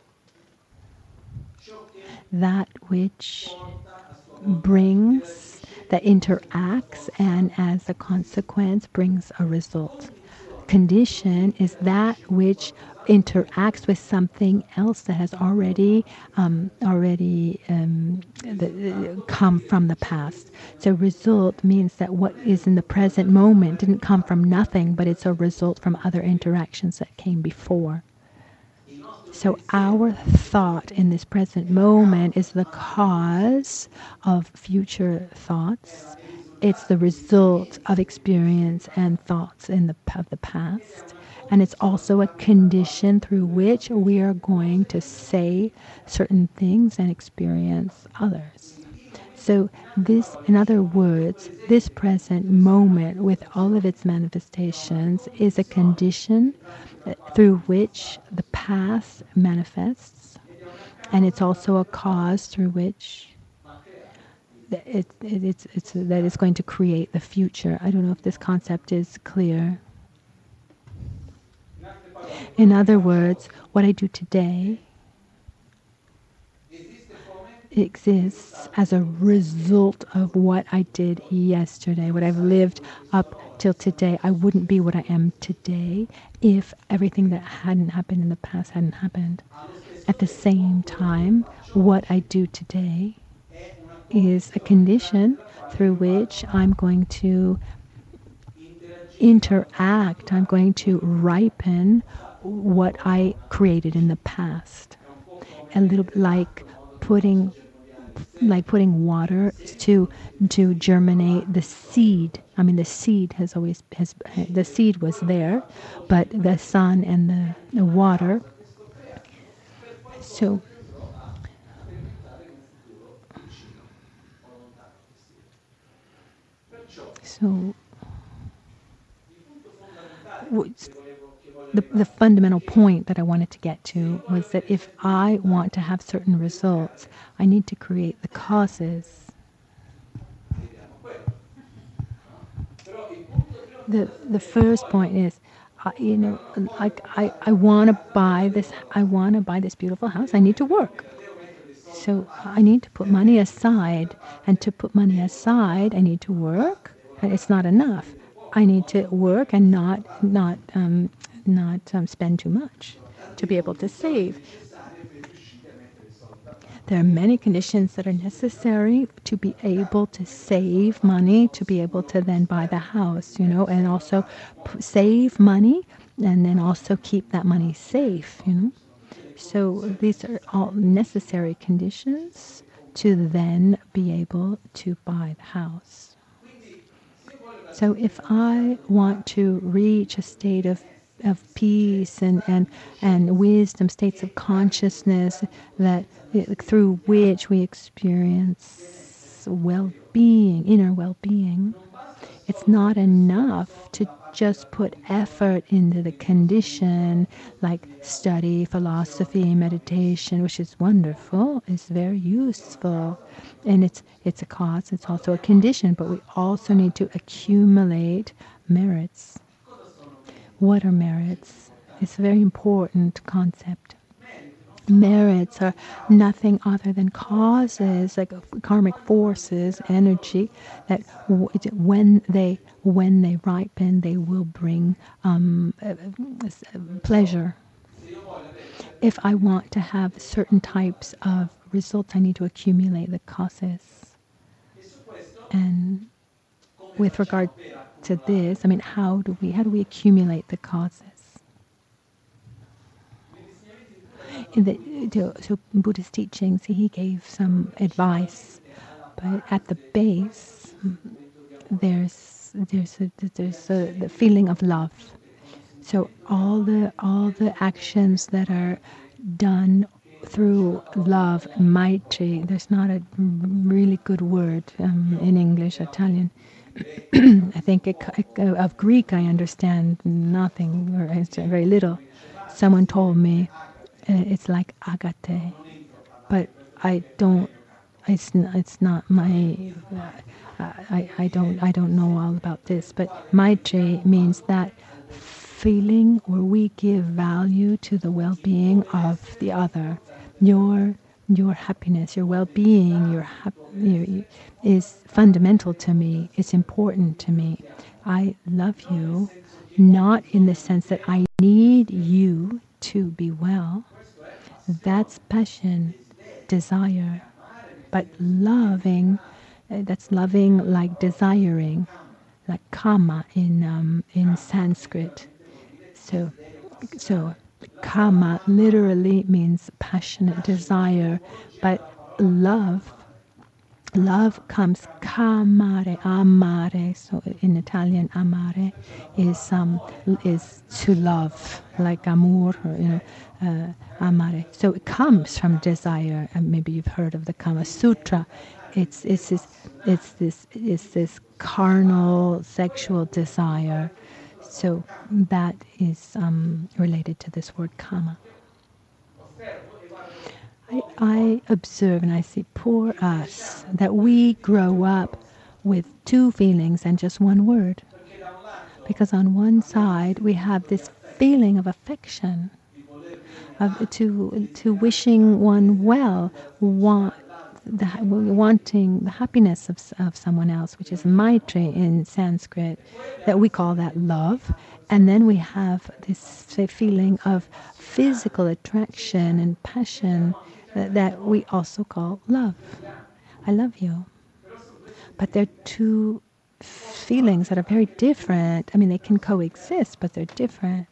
B: that which brings, that interacts, and as a consequence brings a result. Condition is that which interacts with something else that has already come from the past. So result means that what is in the present moment didn't come from nothing, but it's a result from other interactions that came before. So our thought in this present moment is the cause of future thoughts. It's the result of experience and thoughts of the past. And it's also a condition through which we are going to say certain things and experience others. So this, in other words, this present moment with all of its manifestations is a condition through which the past manifests. And it's also a cause through which that it's going to create the future. I don't know if this concept is clear. In other words, what I do today exists as a result of what I did yesterday, what I've lived up till today. I wouldn't be what I am today if everything that hadn't happened in the past hadn't happened. At the same time, what I do today is a condition through which I'm going to interact, I'm going to ripen what I created in the past. A little bit like putting water to germinate the seed. I mean, the seed the seed was there, but the sun and the water. So the fundamental point that I wanted to get to was that if I want to have certain results, I need to create the causes. The first point is, I want to buy this. I want to buy this beautiful house. I need to work. So I need to put money aside, and to put money aside, I need to work. And it's not enough. I need to work and not spend too much to be able to save. There are many conditions that are necessary to be able to save money, to be able to then buy the house, and also save money and then also keep that money safe, So these are all necessary conditions to then be able to buy the house. So if I want to reach a state of peace and wisdom, states of consciousness that through which we experience well-being, inner well-being, it's not enough to just put effort into the condition like study, philosophy, meditation, which is wonderful, it's very useful, and it's a cause, it's also a condition, but we also need to accumulate merits. What are merits? It's a very important concept. Merits are nothing other than causes, like karmic forces, energy, that when they ripen, they will bring pleasure. If I want to have certain types of results, I need to accumulate the causes. And with regard to this, I mean, how do we accumulate the causes? So in Buddhist teachings, he gave some advice, but at the base, there's the feeling of love. So all the actions that are done through love, maitri. There's not a really good word in English, Italian. I think of Greek I understand nothing, or very little. Someone told me it's like agate, but I don't. It's not my. I don't know all about this. But maitri means that feeling where we give value to the well-being of the other. Your happiness, your well-being, is fundamental to me. It's important to me. I love you, not in the sense that I need you to be well. That's passion, desire. But loving, that's loving like desiring, like kama in Sanskrit. So kama literally means passionate desire, but love comes kamare, amare. So in Italian, amare is to love, like amor, or, amare. So it comes from desire, and maybe you've heard of the Kama Sutra. It's this carnal sexual desire. So that is related to this word kama. I observe and I see poor us that we grow up with two feelings and just one word. Because on one side we have this feeling of affection, to wishing one well, wanting the happiness of someone else, which is maitri in Sanskrit, that we call that love. And then we have this feeling of physical attraction and passion that we also call love. I love you. But they're two feelings that are very different. I mean, they can coexist, but they're different.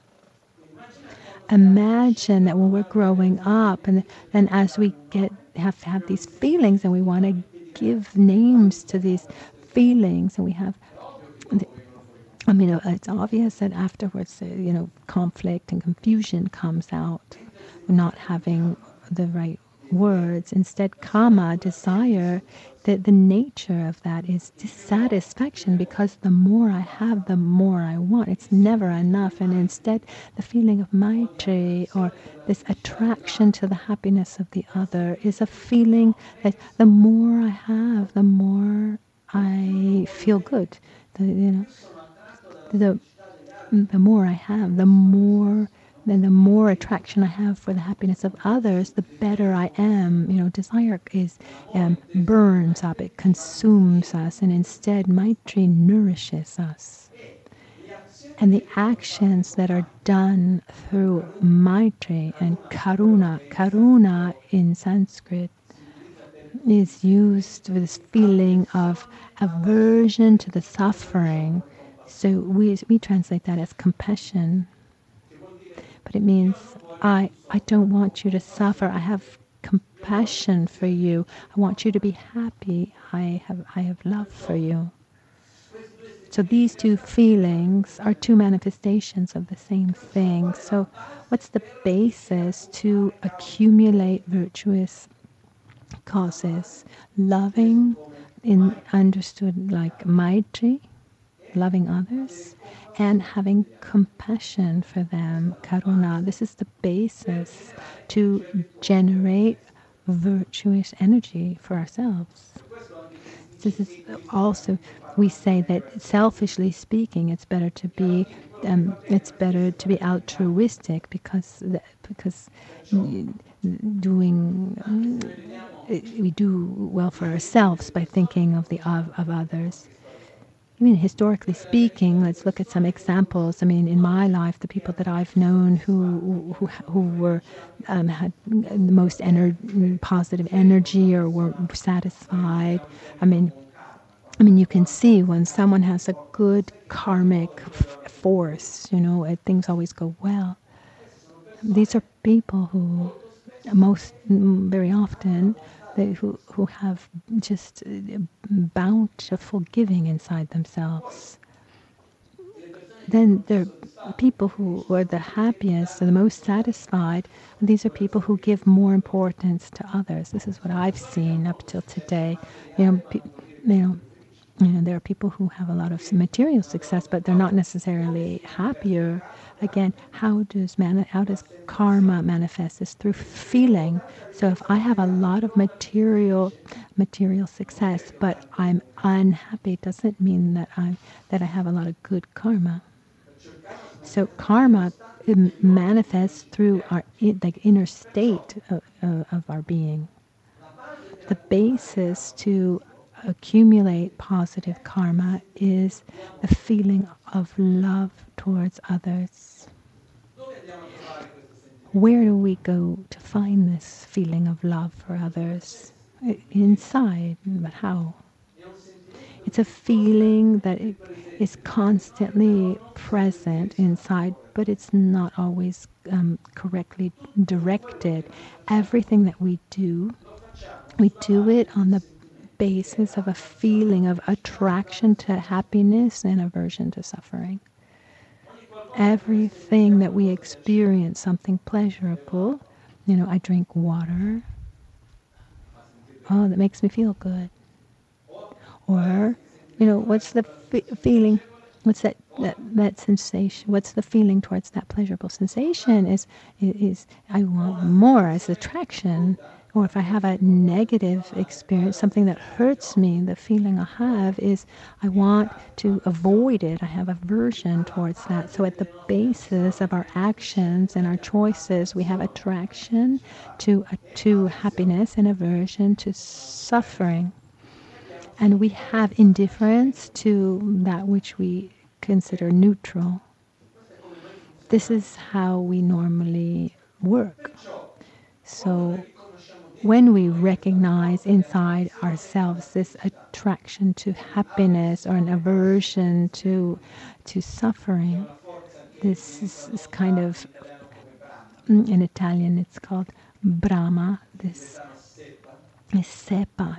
B: Imagine that when we're growing up, and then as we have to have these feelings, and we want to give names to these feelings, and we have, I mean, it's obvious that afterwards, conflict and confusion comes out, not having the right words. Instead, kama, desire, the nature of that is dissatisfaction, because the more I have, the more I want. It's never enough. And instead, the feeling of maitri, or this attraction to the happiness of the other, is a feeling that the more I have, the more I feel good. The more I have, the more attraction I have for the happiness of others, the better I am. Desire burns up, it consumes us, and instead maitri nourishes us. And the actions that are done through maitri and karuna in Sanskrit is used with this feeling of aversion to the suffering. So we translate that as compassion. But it means I don't want you to suffer. I have compassion for you. I want you to be happy. I have love for you. So these two feelings are two manifestations of the same thing. So what's the basis to accumulate virtuous causes? Loving, in understood like Maitri, loving others, and having compassion for them, Karuna. This is the basis to generate virtuous energy for ourselves. This is also, we say that selfishly speaking, it's better to be altruistic because we do well for ourselves by thinking of others. I mean, historically speaking, let's look at some examples. I mean, in my life, the people that I've known who were had the most positive energy or were satisfied. I mean, you can see when someone has a good karmic force, things always go well. These are people who very often, who have just bountiful giving inside themselves. Then there are people who are the happiest, or the most satisfied. These are people who give more importance to others. This is what I've seen up till today. There are people who have a lot of material success, but they're not necessarily happier. Again, how does karma manifest? It's through feeling. So if I have a lot of material success, but I'm unhappy, doesn't mean that I have a lot of good karma. So karma manifests through our inner state of our being. The basis to accumulate positive karma is the feeling of love towards others. Where do we go to find this feeling of love for others? Inside, but how? It's a feeling that is constantly present inside, but it's not always correctly directed. Everything that we do it on the basis of a feeling of attraction to happiness and aversion to suffering. Everything that we experience, something pleasurable, I drink water. Oh, that makes me feel good. Or, what's the feeling? What's that sensation? What's the feeling towards that pleasurable sensation? Is I want more as attraction. Or if I have a negative experience, something that hurts me, the feeling I have is I want to avoid it. I have aversion towards that. So at the basis of our actions and our choices, we have attraction to happiness and aversion to suffering. And we have indifference to that which we consider neutral. This is how we normally work. So when we recognize inside ourselves this attraction to happiness or an aversion to suffering, this is kind of, in Italian it's called Brahma. This is Sepa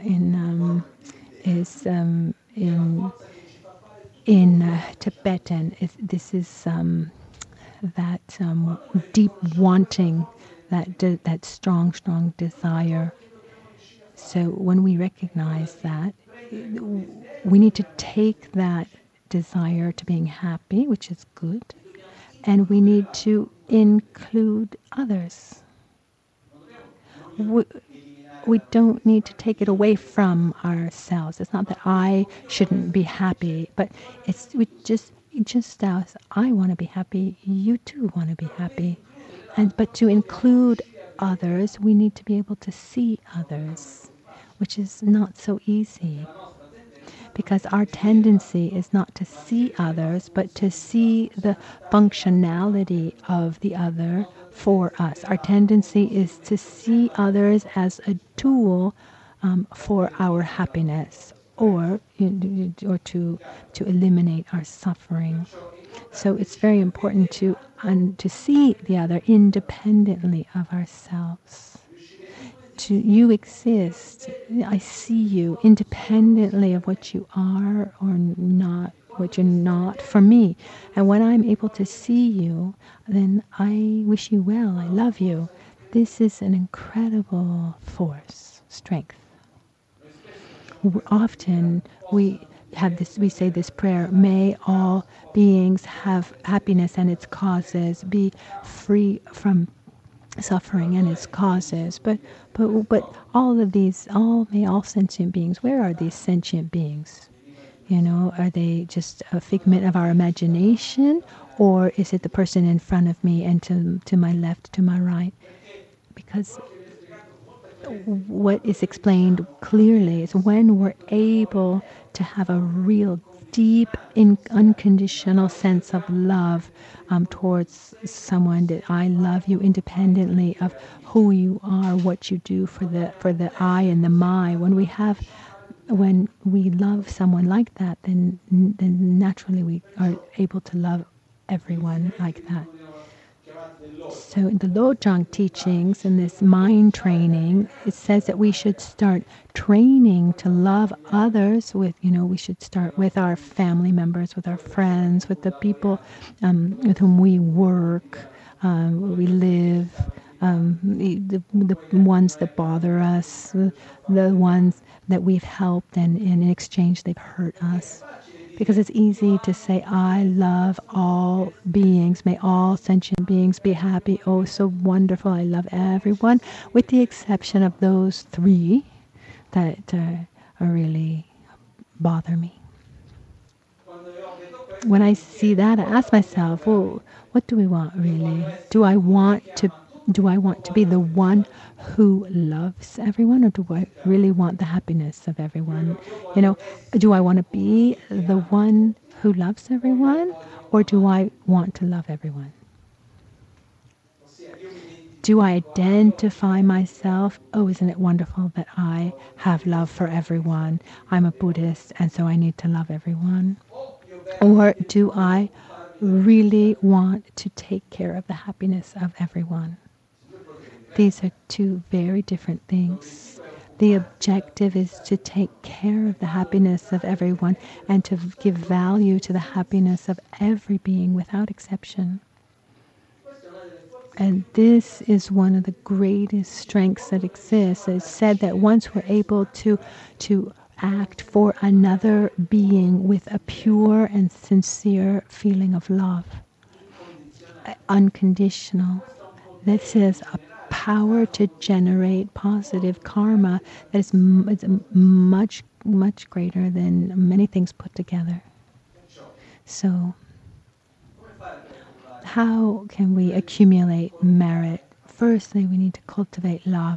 B: in Tibetan. This is that deep wanting, that strong desire. So when we recognize that, we need to take that desire to being happy, which is good, and we need to include others. We don't need to take it away from ourselves. It's not that I shouldn't be happy, but just as I want to be happy, you too want to be happy. But to include others, we need to be able to see others, which is not so easy. Because our tendency is not to see others, but to see the functionality of the other for us. Our tendency is to see others as a tool for our happiness, or to eliminate our suffering. So it's very important to see the other independently of ourselves. You exist. I see you independently of what you are or not, what you're not for me. And when I'm able to see you, then I wish you well. I love you. This is an incredible force, strength. Often we say this prayer: may all beings have happiness and its causes, be free from suffering and its causes. But all of these, may all sentient beings. Where are these sentient beings? Are they just a figment of our imagination, or is it the person in front of me and to my left, to my right? Because what is explained clearly is when we're able to have a real deep, unconditional sense of love towards someone, that I love you independently of who you are, what you do for the I and the my. When we love someone like that, then naturally we are able to love everyone like that. So in the Lojong teachings, in this mind training, it says that we should start training to love others with, we should start with our family members, with our friends, with the people with whom we work, we live, the ones that bother us, the ones that we've helped, and in exchange they've hurt us. Because it's easy to say, I love all beings. May all sentient beings be happy. Oh, so wonderful. I love everyone, with the exception of those three that really bother me. When I see that, I ask myself, well, what do we want really? Do I want to be the one who loves everyone, or do I really want the happiness of everyone? Do I want to be the one who loves everyone, or do I want to love everyone? Do I identify myself? Oh, isn't it wonderful that I have love for everyone? I'm a Buddhist, and so I need to love everyone. Or do I really want to take care of the happiness of everyone? These are two very different things. The objective is to take care of the happiness of everyone and to give value to the happiness of every being without exception. And this is one of the greatest strengths that exists. It's said that once we're able to act for another being with a pure and sincere feeling of love, unconditional, this is a power to generate positive karma that is much, much greater than many things put together. So, how can we accumulate merit? Firstly, we need to cultivate love.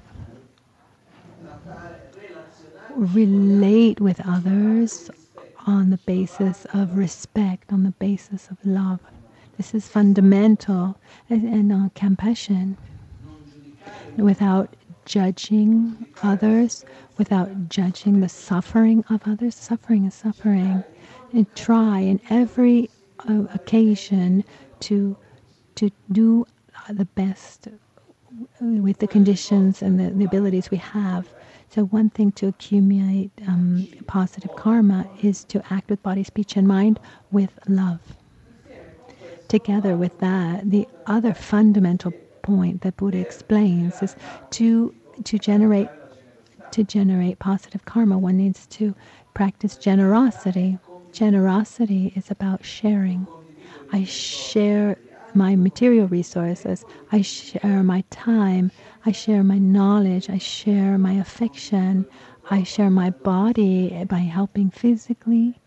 B: Relate with others on the basis of respect, on the basis of love. This is fundamental, and compassion. Without judging others, without judging the suffering of others. Suffering is suffering. And try in every occasion to do the best with the conditions and the abilities we have. So one thing to accumulate positive karma is to act with body, speech, and mind with love. Together with that, the other fundamental point that Buddha explains is to generate positive karma, one needs to practice generosity. Generosity is about sharing. I share my material resources, I share my time, I share my knowledge, I share my affection, I share my body by helping physically.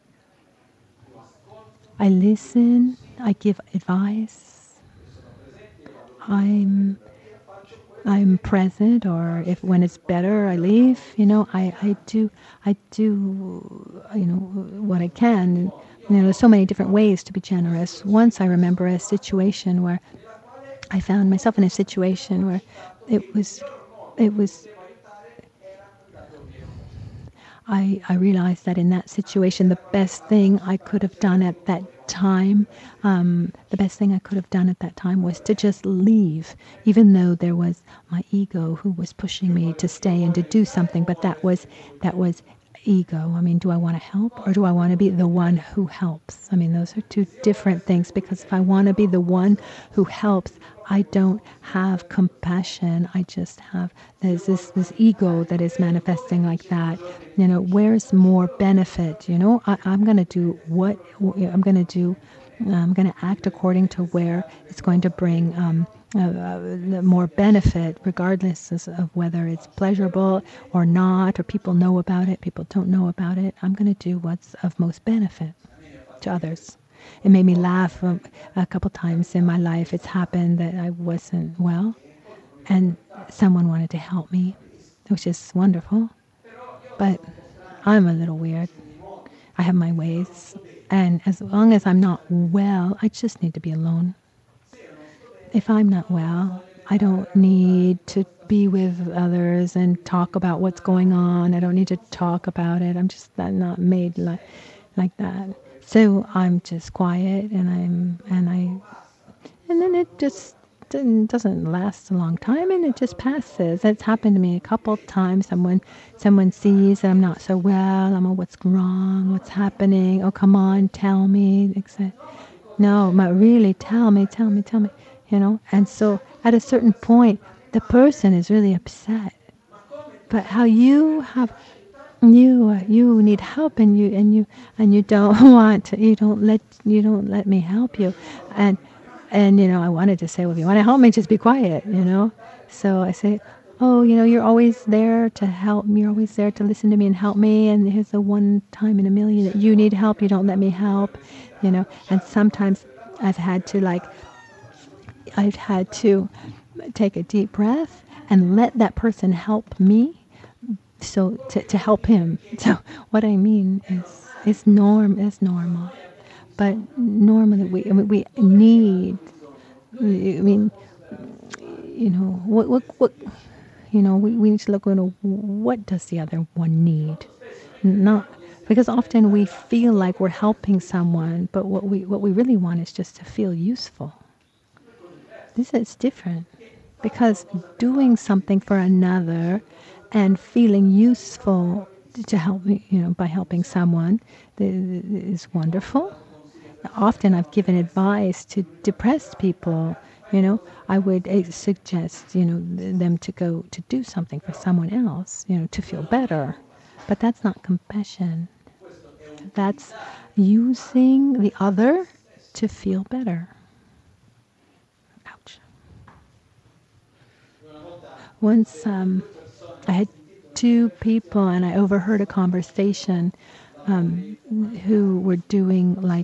B: I listen, I give advice. I'm present, or if when it's better, I leave. I do what I can. There's so many different ways to be generous. Once I remember a situation where I found myself in a situation where I realized that in that situation, the best thing I could have done at that time, was to just leave, even though there was my ego who was pushing me to stay and to do something. But that was ego. I mean, do I want to help or do I want to be the one who helps? I mean, those are two different things, because if I want to be the one who helps, I don't have compassion. I just have, there's this ego that is manifesting like that. Where's more benefit? I'm going to do what I'm going to do. I'm going to act according to where it's going to bring more benefit, regardless of whether it's pleasurable or not, or people know about it, people don't know about it. I'm going to do what's of most benefit to others. It made me laugh a couple times in my life. It's happened that I wasn't well, and someone wanted to help me, which is wonderful. But I'm a little weird. I have my ways. And as long as I'm not well, I just need to be alone. If I'm not well, I don't need to be with others and talk about what's going on. I don't need to talk about it. I'm not made like that. So I'm just quiet, and then it just doesn't last a long time, and it just passes. It's happened to me a couple of times. Someone sees that I'm not so well. I'm, what's wrong? What's happening? Oh, come on, tell me. No, but really, tell me. And so at a certain point, the person is really upset. But how you have, you need help, and you don't want to, you don't let me help you, and I wanted to say, well, if you want to help me, just be quiet, So I say, oh, you're always there to help me. You're always there to listen to me and help me. And here's the one time in a million that you need help. You don't let me help, And sometimes I've had to take a deep breath and let that person help me. So to help him. So what I mean is, it's normal. But normally we need, we need to look at what does the other one need? Not, because often we feel like we're helping someone, but what we really want is just to feel useful. This is different, because doing something for another and feeling useful to help, by helping someone is wonderful. Often I've given advice to depressed people. I would suggest, them to go to do something for someone else, to feel better. But that's not compassion. That's using the other to feel better. Ouch. Once I had two people, and I overheard a conversation who were doing like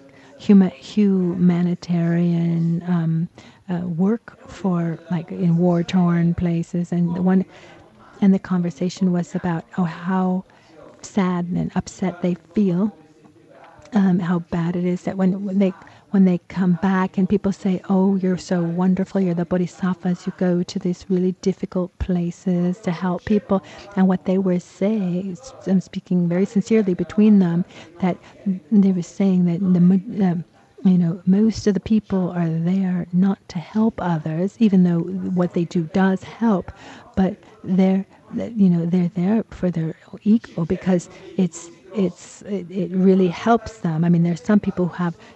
B: humanitarian work for, like, in war-torn places, and the conversation was about how sad and upset they feel, how bad it is that when they come back and people say, oh, you're so wonderful, you're the bodhisattvas, you go to these really difficult places to help people. And what they were saying, I'm speaking very sincerely between them, that they were saying that most of the people are there not to help others, even though what they do does help, but they're there for their ego, because it really helps them. I mean, there's some people who have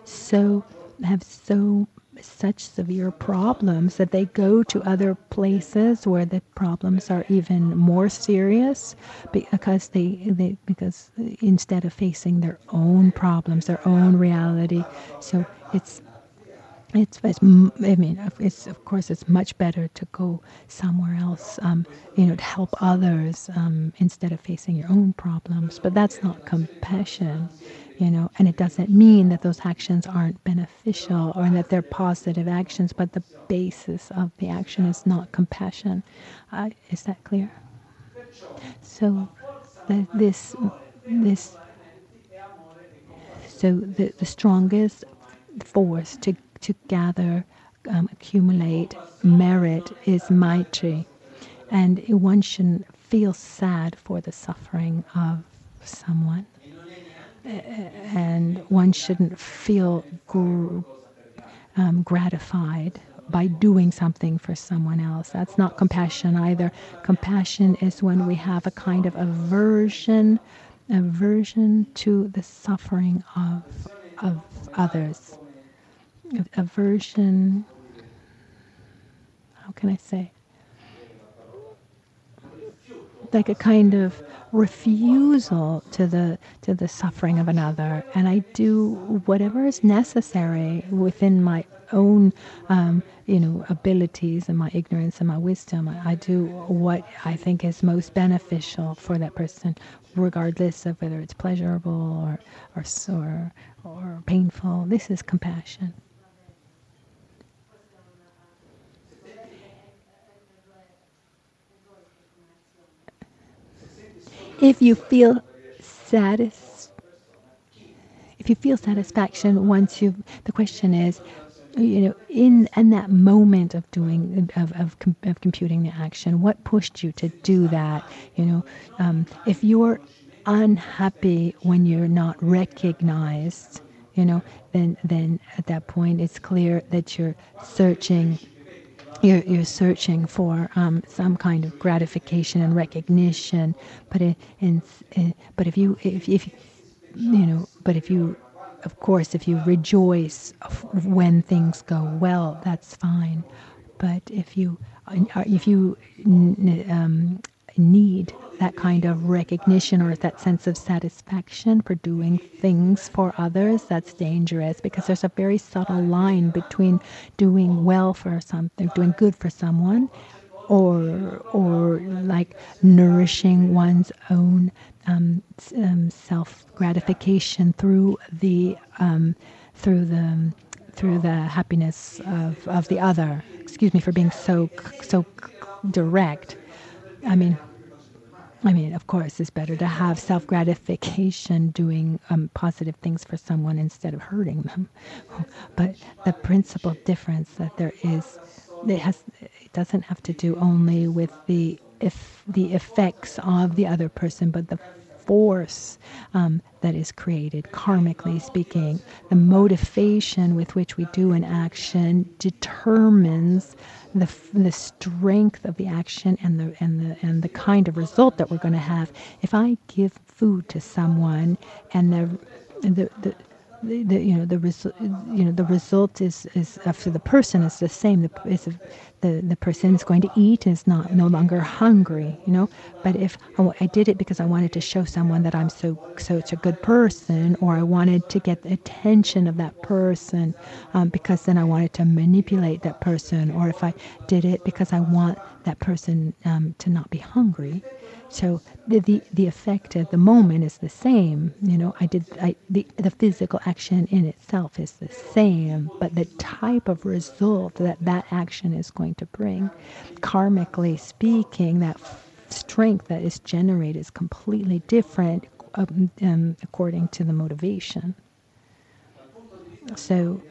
B: such severe problems that they go to other places where the problems are even more serious, because because instead of facing their own problems, their own reality. So of course it's much better to go somewhere else, to help others, instead of facing your own problems. But that's not compassion, and it doesn't mean that those actions aren't beneficial or that they're positive actions, but the basis of the action is not compassion. Is that clear? So the strongest force to gather, accumulate merit is Maitri. And one shouldn't feel sad for the suffering of someone, and one shouldn't feel gratified by doing something for someone else. That's not compassion either. Compassion is when we have a kind of aversion to the suffering of others. Aversion, how can I say? Like a kind of refusal to the suffering of another, and I do whatever is necessary within my own abilities and my ignorance and my wisdom. I do what I think is most beneficial for that person, regardless of whether it's pleasurable or painful. This is compassion. If you feel satisfaction once the question is, in that moment of doing of computing the action, what pushed you to do that? If you're unhappy when you're not recognized, then at that point it's clear that you're searching for some kind of gratification and recognition, but if you of course if you rejoice when things go well, that's fine. But if you need that kind of recognition or that sense of satisfaction for doing things for others, that's dangerous, because there's a very subtle line between doing well for something, doing good for someone, or like nourishing one's own self gratification through the happiness of the other. Excuse me for being so direct. I mean, of course, it's better to have self-gratification doing positive things for someone instead of hurting them. But the principal difference that there is, it doesn't have to do only with the effects of the other person, but the force that is created, karmically speaking. The motivation with which we do an action determines the strength of the action and the kind of result that we're going to have. If I give food to someone and the result is for the person is the same. The person is going to eat and is no longer hungry. But if I did it because I wanted to show someone that I'm such a good person, or I wanted to get the attention of that person, because then I wanted to manipulate that person, or if I did it because I want that person to not be hungry. So the effect at the moment is the same. The physical action in itself is the same, but the type of result that action is going to bring, karmically speaking, that strength that is generated is completely different according to the motivation. So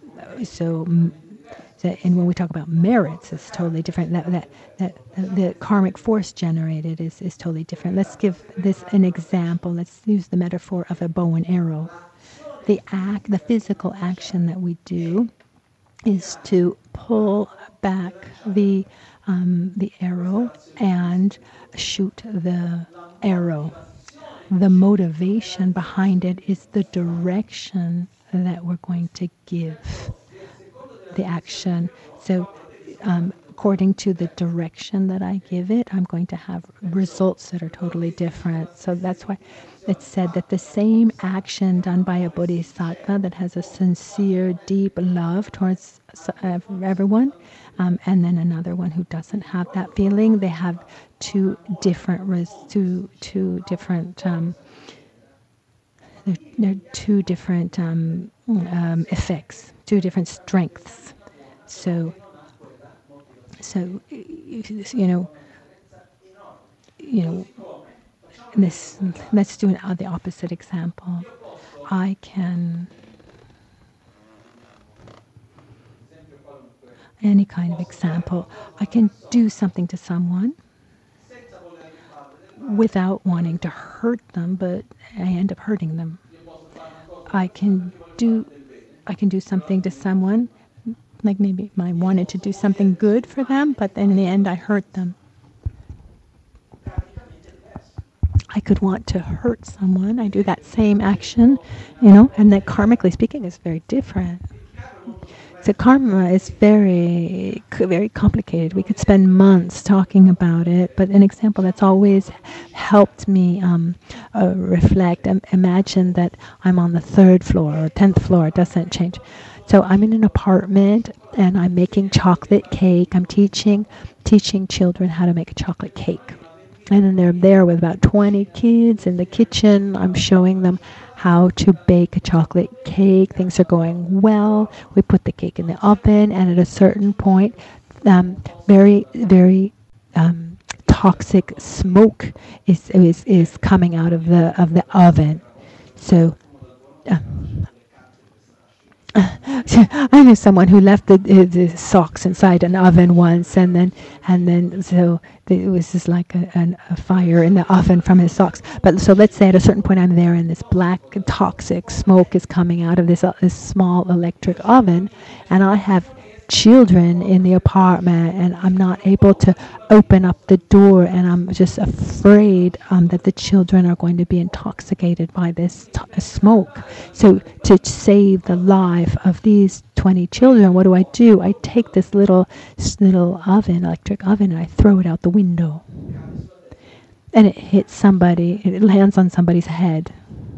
B: and when we talk about merits, it's totally different. That the karmic force generated is totally different. Let's give this an example. Let's use the metaphor of a bow and arrow. The physical action that we do is to pull back the arrow and shoot the arrow. The motivation behind it is the direction that we're going to give the action. So according to the direction that I give it, I'm going to have results that are totally different. So that's why it's said that the same action done by a bodhisattva that has a sincere, deep love towards everyone, and then another one who doesn't have that feeling, they have two different effects, two different strengths. So this. Let's do the opposite example. Any kind of example. I can do something to someone without wanting to hurt them, but I end up hurting them. I can do something to someone, like maybe I wanted to do something good for them, but then in the end I hurt them. I could want to hurt someone. I do that same action, and that karmically speaking is very different. So karma is very, very complicated. We could spend months talking about it, but an example that's always helped me reflect, imagine that I'm on the 3rd floor or 10th floor. It doesn't change. So I'm in an apartment and I'm making chocolate cake. I'm teaching children how to make a chocolate cake. And then they're there with about 20 kids in the kitchen. I'm showing them how to bake a chocolate cake. Things are going well. We put the cake in the oven, and at a certain point, very, very toxic smoke is coming out of the oven. So I knew someone who left the socks inside an oven once, and then so it was just like a fire in the oven from his socks. But so let's say at a certain point I'm there, and this black toxic smoke is coming out of this small electric oven, and I have children in the apartment, and I'm not able to open up the door, and I'm just afraid that the children are going to be intoxicated by this smoke. So to save the life of these 20 children, what do? I take this little oven, electric oven, and I throw it out the window. And it hits somebody, it lands on somebody's head.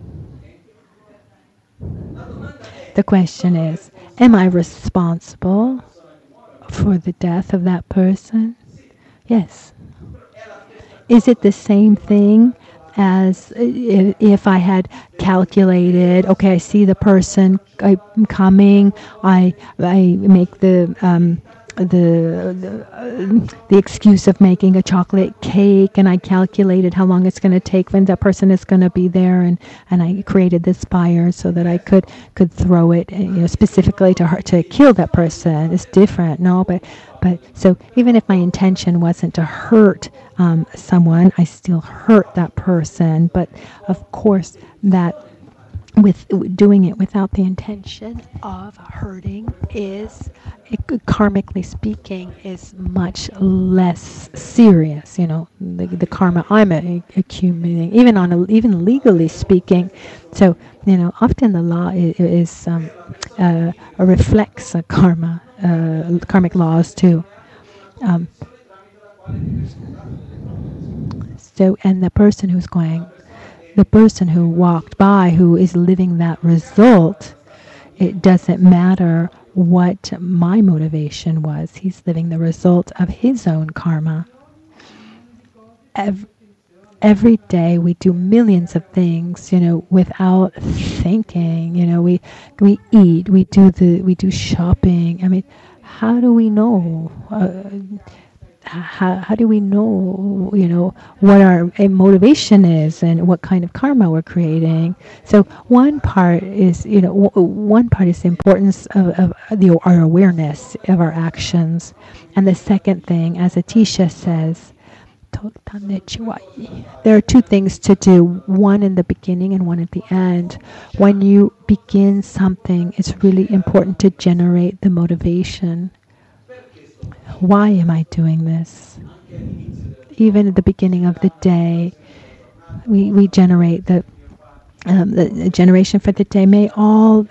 B: The question is, am I responsible for the death of that person? Yes. Is it the same thing as if I had calculated, okay, I see the person coming, I make the excuse of making a chocolate cake, and I calculated how long it's going to take when that person is going to be there, and I created this fire so that I could throw it, specifically to kill that person. It's different, no, but so even if my intention wasn't to hurt someone, I still hurt that person. But of course, that with doing it without the intention of hurting is, karmically speaking, is much less serious. The karma I'm accumulating, even legally speaking. So often the law is reflects karma, karmic laws too. So, and the person who walked by, who is living that result, it doesn't matter what my motivation was. He's living the result of his own karma. Every day we do millions of things, without thinking. We eat, we do shopping. I mean, how do we know? How do we know, what our motivation is and what kind of karma we're creating? So one part is, the importance of our awareness of our actions. And the second thing, as Atisha says, there are two things to do, one in the beginning and one at the end. When you begin something, it's really important to generate the motivation. Why am I doing this? Even at the beginning of the day, we generate the generation for the day. May all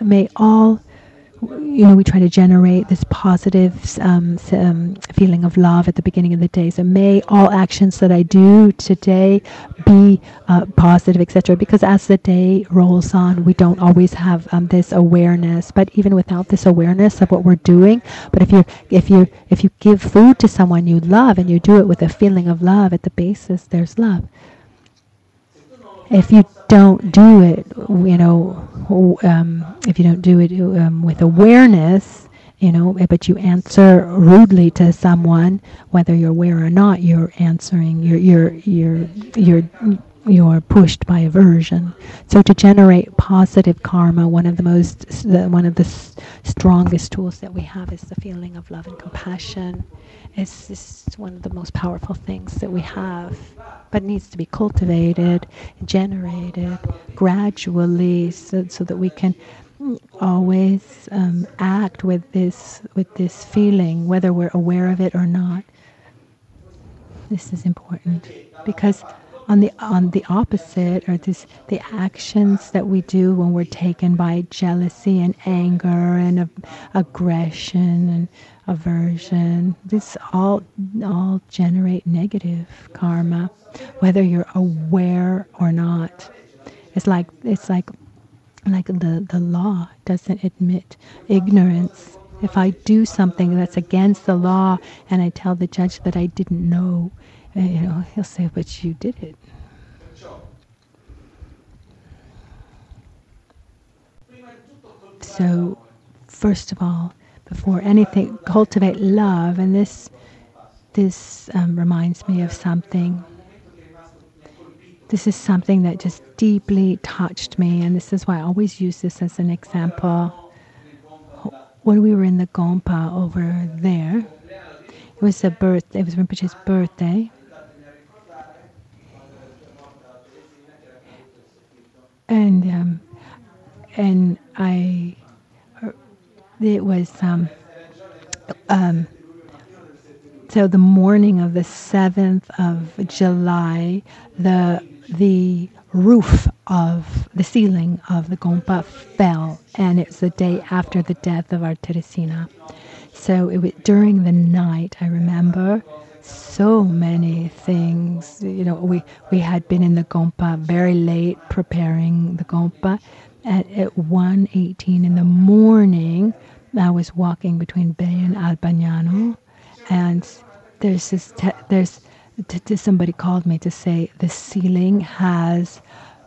B: we try to generate this positive feeling of love at the beginning of the day. So may all actions that I do today be positive, etc. Because as the day rolls on, we don't always have this awareness. But even without this awareness of what we're doing, but if you give food to someone you love and you do it with a feeling of love, at the basis there's love. If you don't do it, if you don't do it with awareness, but you answer rudely to someone, whether you're aware or not, you're answering. You're you're pushed by aversion. So to generate positive karma, one of the strongest tools that we have is the feeling of love and compassion. It's one of the most powerful things that we have, but needs to be cultivated, generated gradually, so that we can always act with this feeling, whether we're aware of it or not. This is important, because on the opposite, or the actions that we do when we're taken by jealousy and anger and aggression and aversion, this all generate negative karma, whether you're aware or not. It's like the law doesn't admit ignorance. If I do something that's against the law and I tell the judge that I didn't know, he'll say, but you did it. So, first of all, before anything, cultivate love, and this reminds me of something. This is something that just deeply touched me, and this is why I always use this as an example. When we were in the Gompa over there, it was Rinpoche's birthday. And it was so the morning of the 7th of July, the roof of the ceiling of the Gompa fell, and it was the day after the death of our Teresina. So it was during the night. I remember so many things. We had been in the Gompa very late preparing the Gompa. At 1:18 in the morning, I was walking between Bay and Albagnano, and somebody called me to say the ceiling has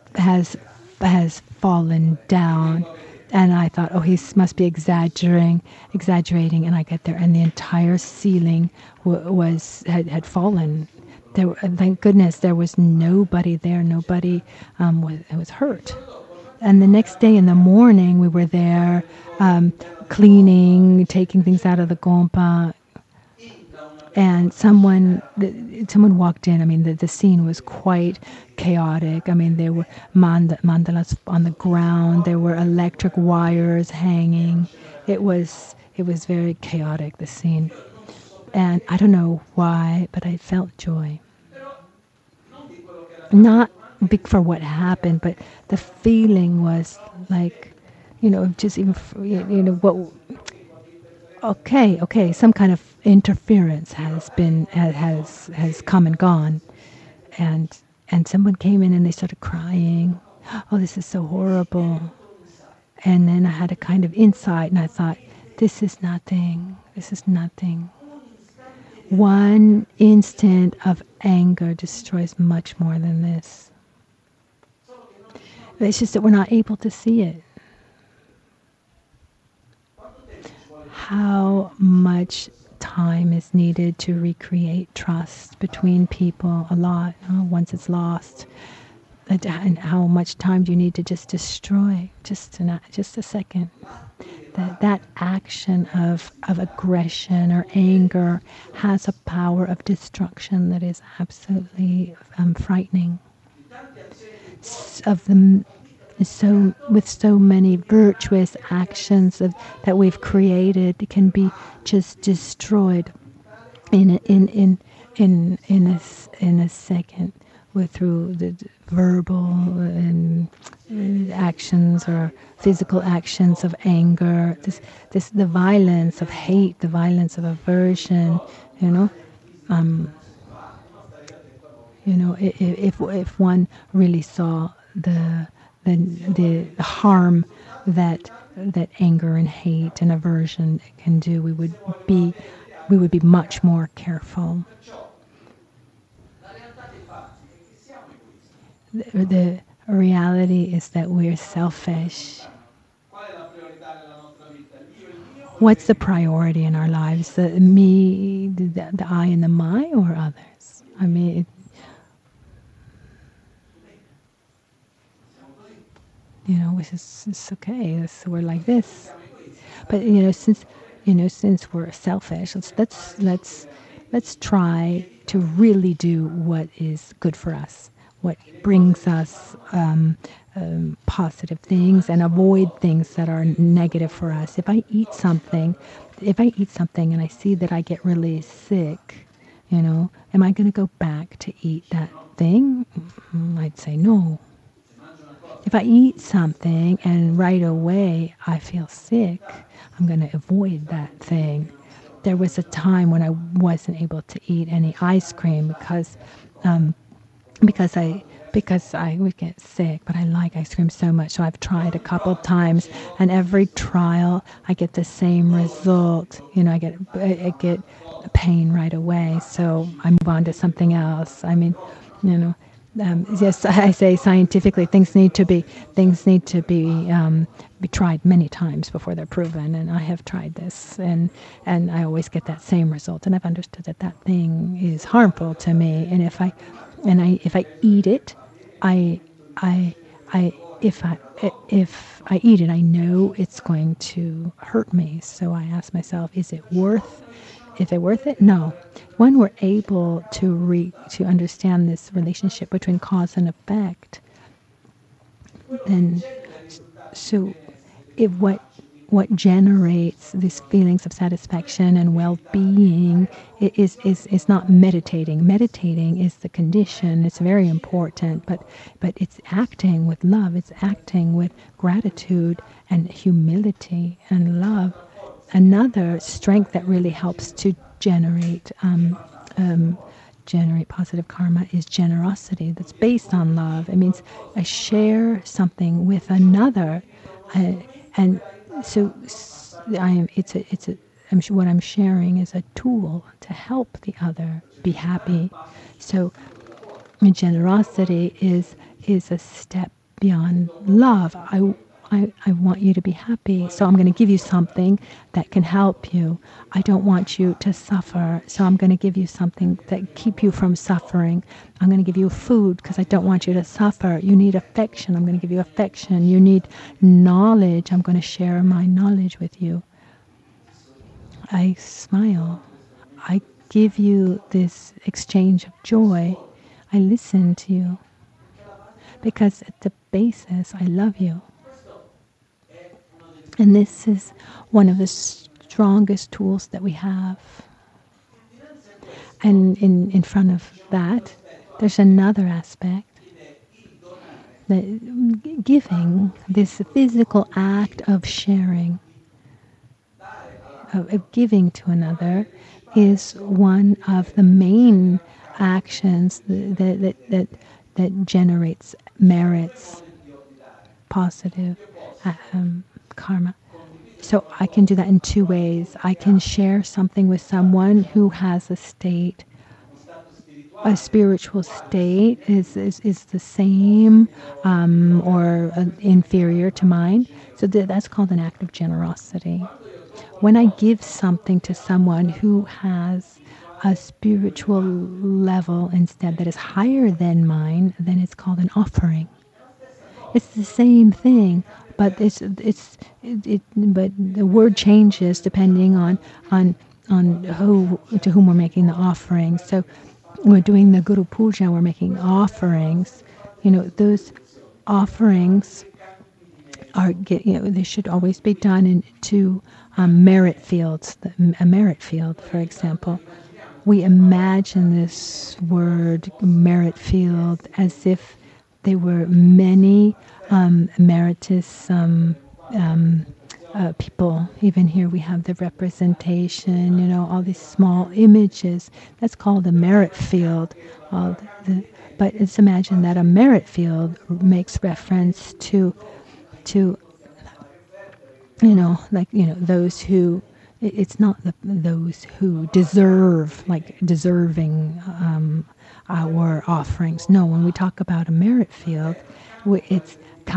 B: fallen down. And I thought, he must be exaggerating. And I get there, and the entire ceiling had fallen. Thank goodness there was nobody there. Nobody was hurt. And the next day in the morning, we were there cleaning, taking things out of the Gompa. And someone walked in. I mean, the scene was quite chaotic. I mean, there were mandalas on the ground. There were electric wires hanging. It was very chaotic, the scene. And I don't know why, but I felt joy. Not big for what happened, but the feeling was like, just even, what. Okay, some kind of interference has come and gone, and someone came in and they started crying. Oh, this is so horrible. And then I had a kind of insight, and I thought, this is nothing. One instant of anger destroys much more than this. It's just that we're not able to see it. How much time is needed to recreate trust between people? A lot. Once it's lost, and how much time do you need to just destroy? Just a second. That action of aggression or anger has a power of destruction that is absolutely frightening. With so many virtuous actions that we've created, it can be just destroyed in a second, through the verbal and actions or physical actions of anger. The violence of hate, the violence of aversion. If one really saw the harm that anger and hate and aversion can do, we would be much more careful. The reality is that we're selfish. What's the priority in our lives? The me, the I, and the my, or others? I mean, it's okay. We're like this. But since we're selfish, let's try to really do what is good for us, what brings us positive things, and avoid things that are negative for us. If I eat something and I see that I get really sick, am I going to go back to eat that thing? I'd say no. If I eat something and right away I feel sick, I'm going to avoid that thing. There was a time when I wasn't able to eat any ice cream because I would get sick, but I like ice cream so much. So I've tried a couple times, and every trial I get the same result. I get pain right away. So I move on to something else. I mean, yes, I say scientifically things need to be tried many times before they're proven. And I have tried this, and I always get that same result. And I've understood that thing is harmful to me. And if I eat it, if I eat it, I know it's going to hurt me. So I ask myself, is it worth it? No. When we're able to understand this relationship between cause and effect, then what generates these feelings of satisfaction and well-being is not meditating. Meditating is the condition. It's very important, but it's acting with love. It's acting with gratitude and humility and love. Another strength that really helps to generate positive karma is generosity. That's based on love. It means I share something with another, and so what I'm sharing is a tool to help the other be happy. So generosity is a step beyond love. I want you to be happy, so I'm going to give you something that can help you. I don't want you to suffer, so I'm going to give you something that keep you from suffering. I'm going to give you food because I don't want you to suffer. You need affection. I'm going to give you affection. You need knowledge. I'm going to share my knowledge with you. I smile. I give you this exchange of joy. I listen to you because at the basis, I love you. And this is one of the strongest tools that we have. And in front of that, there's another aspect. That giving, this physical act of sharing, of giving to another, is one of the main actions that generates merits, positive karma. So I can do that in two ways. I can share something with someone who has a spiritual state is the same or inferior to mine. So that's called an act of generosity. When I give something to someone who has a spiritual level instead that is higher than mine, then it's called an offering. It's the same thing, but but the word changes depending on to whom we're making the offering. So we're doing the Guru Puja, we're making offerings. Those offerings they should always be done into merit fields. A merit field, for example. We imagine this word merit field as if there were many emeritus people. Even here we have the representation, all these small images. That's called a merit field. But let's imagine that a merit field makes reference to those who, it's not those who deserve, like deserving our offerings. No, when we talk about a merit field, it's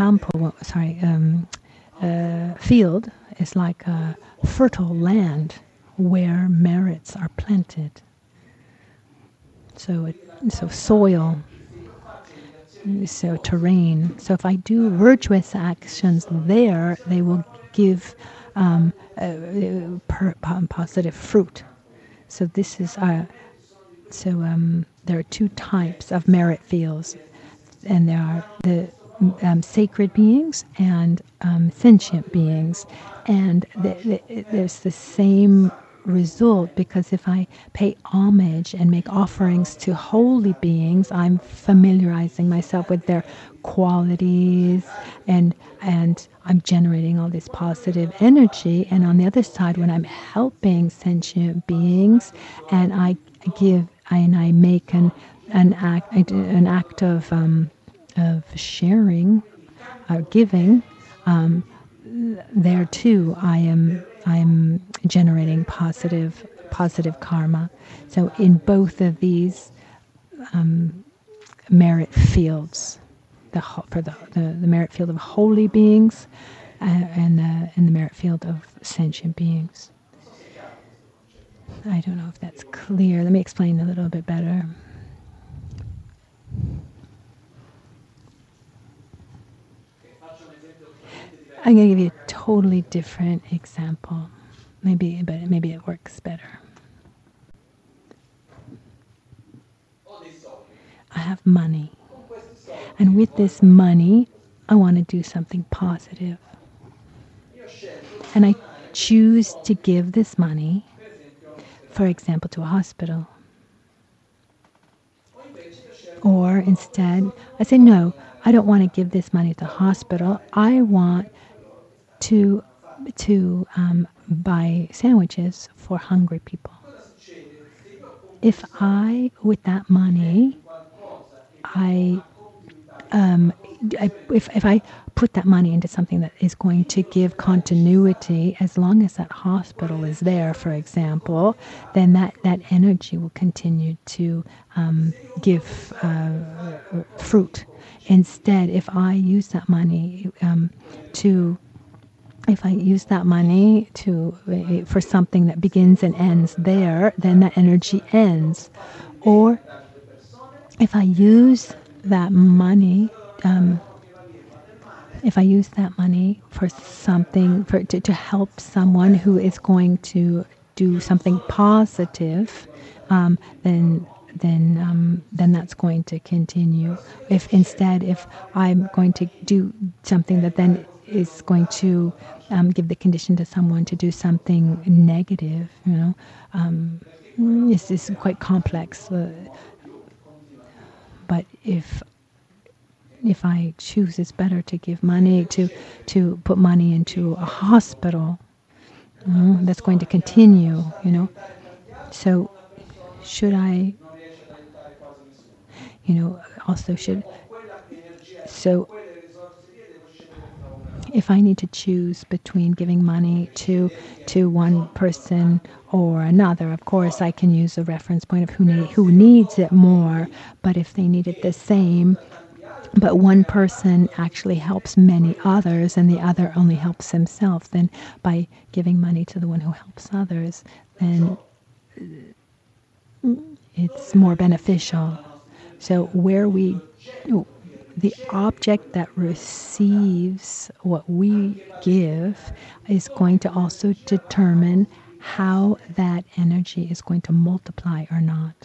B: field is like a fertile land where merits are planted. So soil. so terrain. So if I do virtuous actions there, they will give positive fruit. So this is there are two types of merit fields, and there are the sacred beings and sentient beings, and there's the same result, because if I pay homage and make offerings to holy beings, I'm familiarizing myself with their qualities, and I'm generating all this positive energy. And on the other side, when I'm helping sentient beings, and I make an act of sharing, giving, there too I'm generating positive karma. So in both of these merit fields, for the merit field of holy beings and the merit field of sentient beings. I don't know if that's clear. Let me explain a little bit better. I'm going to give you a totally different example. Maybe it works better. I have money. And with this money, I want to do something positive. And I choose to give this money, for example, to a hospital. Or instead, I say, no, I don't want to give this money to the hospital. I want to buy sandwiches for hungry people. If with that money, if I put that money into something that is going to give continuity, as long as that hospital is there, for example, then that energy will continue to give fruit. Instead, if I use that money for something that begins and ends there, then that energy ends. Or if I use that money, for something, to help someone who is going to do something positive, then that's going to continue. If I'm going to do something that then is going to give the condition to someone to do something negative, this is quite complex. But if I choose, it's better to give money, to put money into a hospital. That's going to continue, So should I, so if I need to choose between giving money to one person or another, of course I can use a reference point of who needs it more. But if they need it the same, but one person actually helps many others and the other only helps himself, then by giving money to the one who helps others, then it's more beneficial. So the object that receives what we give is going to also determine how that energy is going to multiply or not.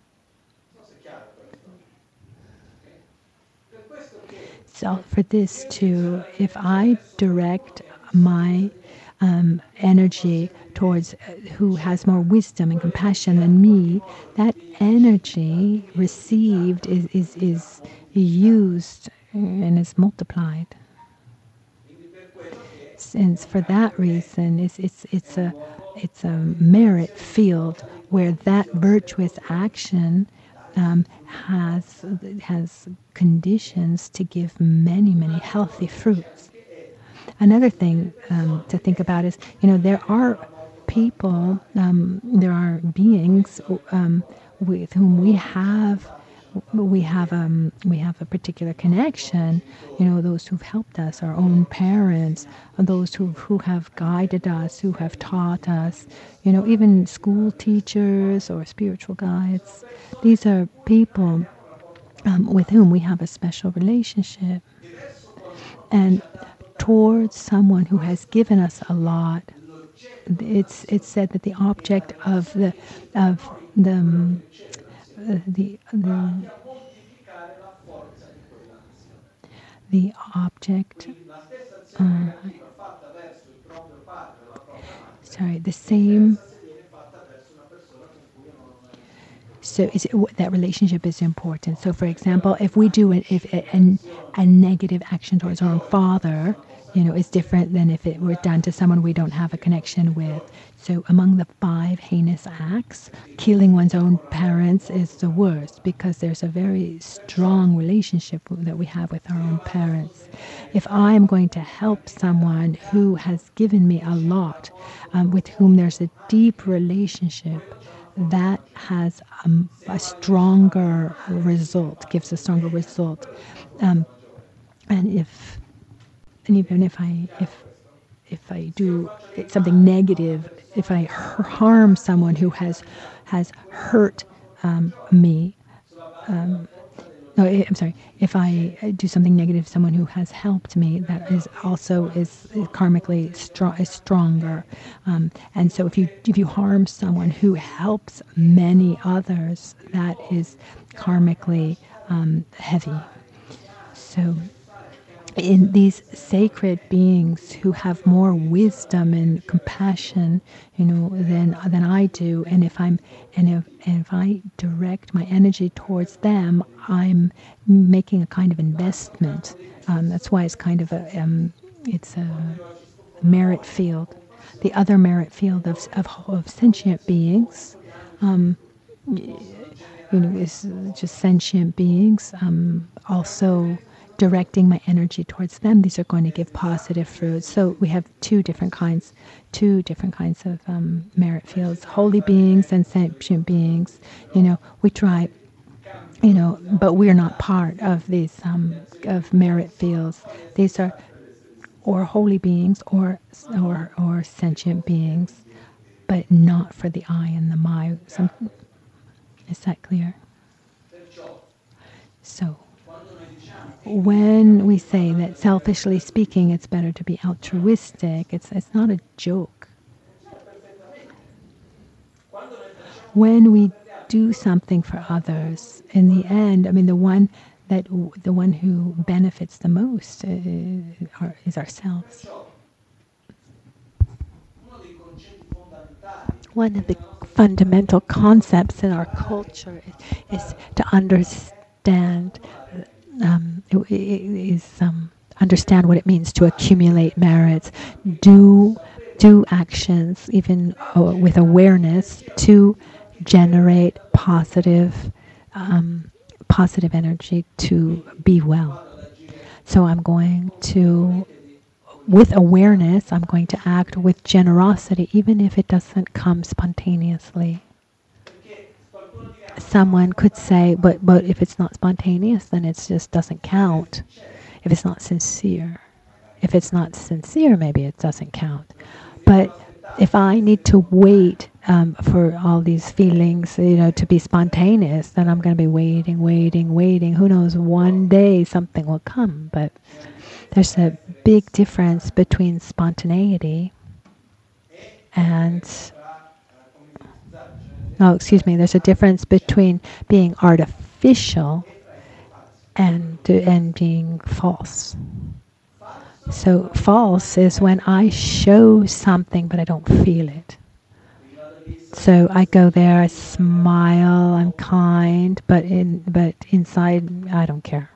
B: So for this too, if I direct my energy towards who has more wisdom and compassion than me, that energy received is used and is multiplied. Since for that reason, it's a merit field where that virtuous action has conditions to give many, many healthy fruits. Another thing to think about is, there are people, there are beings with whom we have a particular connection. Those who've helped us, our own parents, those who have guided us, who have taught us. Even school teachers or spiritual guides. These are people with whom we have a special relationship. And towards someone who has given us a lot, it's said that the object of the object, the same. So that relationship is important. So, for example, if we do a negative action towards our own father, it's different than if it were done to someone we don't have a connection with. So among the 5 heinous acts, killing one's own parents is the worst, because there's a very strong relationship that we have with our own parents. If I'm going to help someone who has given me a lot, with whom there's a deep relationship, that has a stronger result, gives a stronger result. And even if I do something negative, if I harm someone who has hurt me, if I do something negative to someone who has helped me, that is also karmically stronger. And so if you harm someone who helps many others, that is karmically heavy. So in these sacred beings who have more wisdom and compassion, than I do, and if I direct my energy towards them, I'm making a kind of investment. That's why it's kind of it's a merit field. The other merit field of sentient beings, is just sentient beings. Also directing my energy towards them, these are going to give positive fruits. So we have two different kinds of merit fields: holy beings and sentient beings. We try, but we're not part of these of merit fields. These are or holy beings or sentient beings, but not for the I and the my. Is that clear? So when we say that, selfishly speaking, it's better to be altruistic, it's not a joke. When we do something for others, in the end, the one who benefits the most is ourselves. One of the fundamental concepts in our culture is to understand. Understand what it means to accumulate merits, do actions even with awareness to generate positive energy to be well. So I'm going to, with awareness, I'm going to act with generosity, even if it doesn't come spontaneously. Someone could say, but if it's not spontaneous, then it just doesn't count. If it's not sincere. If it's not sincere, maybe it doesn't count. But if I need to wait for all these feelings, to be spontaneous, then I'm going to be waiting. Who knows, one day something will come. But there's a big difference between spontaneity and... there's a difference between being artificial and being false. So false is when I show something but I don't feel it. So I go there, I smile, I'm kind, but inside I don't care.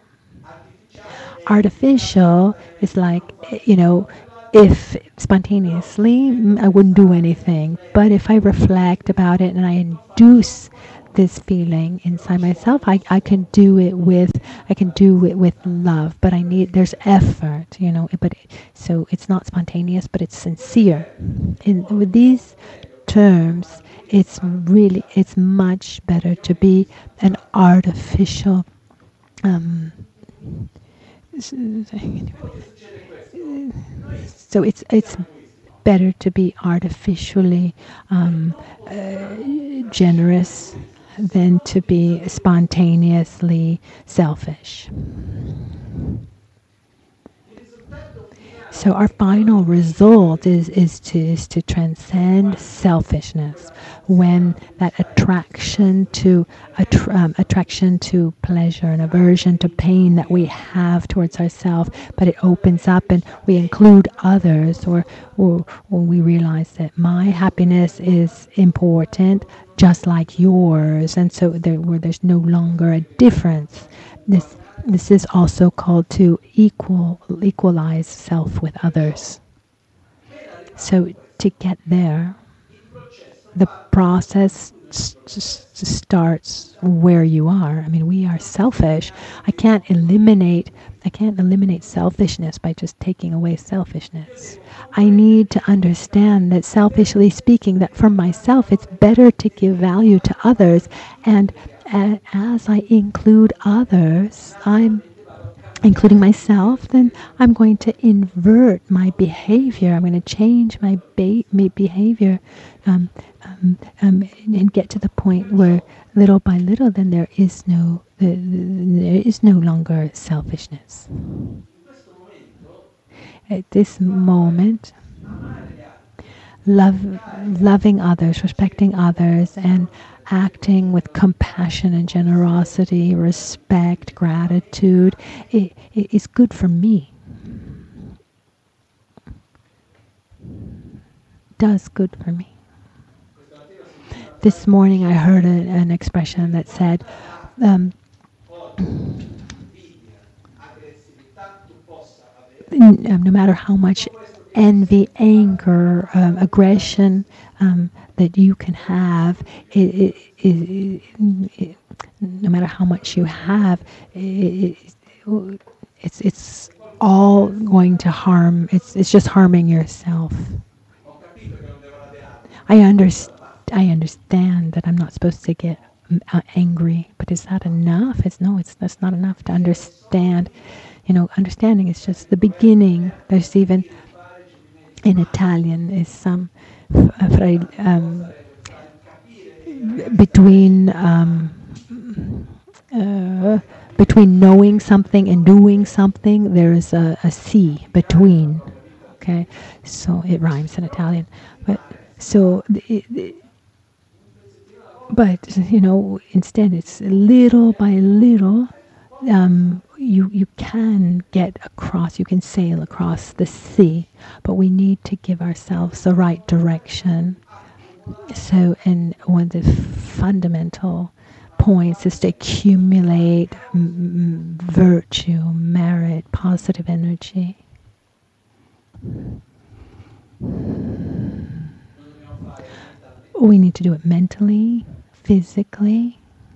B: Artificial is like, if spontaneously, I wouldn't do anything. But if I reflect about it and I induce this feeling inside myself, I can do it with love. But there's effort, so it's not spontaneous, but it's sincere. With these terms, it's much better to be an artificial. So it's better to be artificially generous than to be spontaneously selfish. So our final result is to transcend selfishness, when that attraction to pleasure and aversion to pain that we have towards ourselves, but it opens up and we include others, or we realize that my happiness is important just like yours, and so where there's no longer a difference. This is also called to equalize self with others. So to get there, the process starts where you are. I mean, we are selfish. I can't eliminate selfishness by just taking away selfishness. I need to understand that, selfishly speaking, that for myself it's better to give value to others, and as I include others, I'm including myself, then I'm going to invert my behavior. I'm going to change my behavior and get to the point where little by little, then there is no longer selfishness. At this moment, loving others, respecting others, and acting with compassion and generosity, respect, gratitude, it is good for me. Does good for me. This morning I heard an expression that said, no matter how much envy, anger, aggression that you can have, no matter how much you have, it's all going to harm. It's just harming yourself. I understand that I'm not supposed to get angry, but is that enough? That's not enough to understand. Understanding is just the beginning. There's even in Italian is some between knowing something and doing something, there is a C between. Okay, so it rhymes in Italian, but instead it's little by little. You can get across, you can sail across the sea, but we need to give ourselves the right direction. So, and one of the fundamental points is to accumulate virtue, merit, positive energy. We need to do it mentally, physically.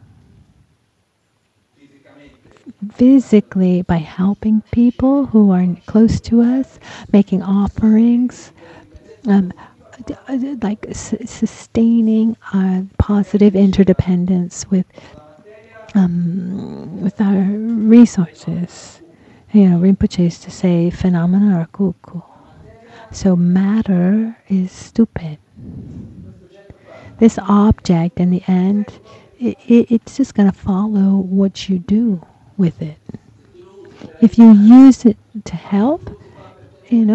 B: Physically, by helping people who are close to us, making offerings, like sustaining our positive interdependence with our resources. Rinpoche used to say, phenomena are cuckoo. So matter is stupid. This object, in the end, it's just going to follow what you do with it. If you use it to help, if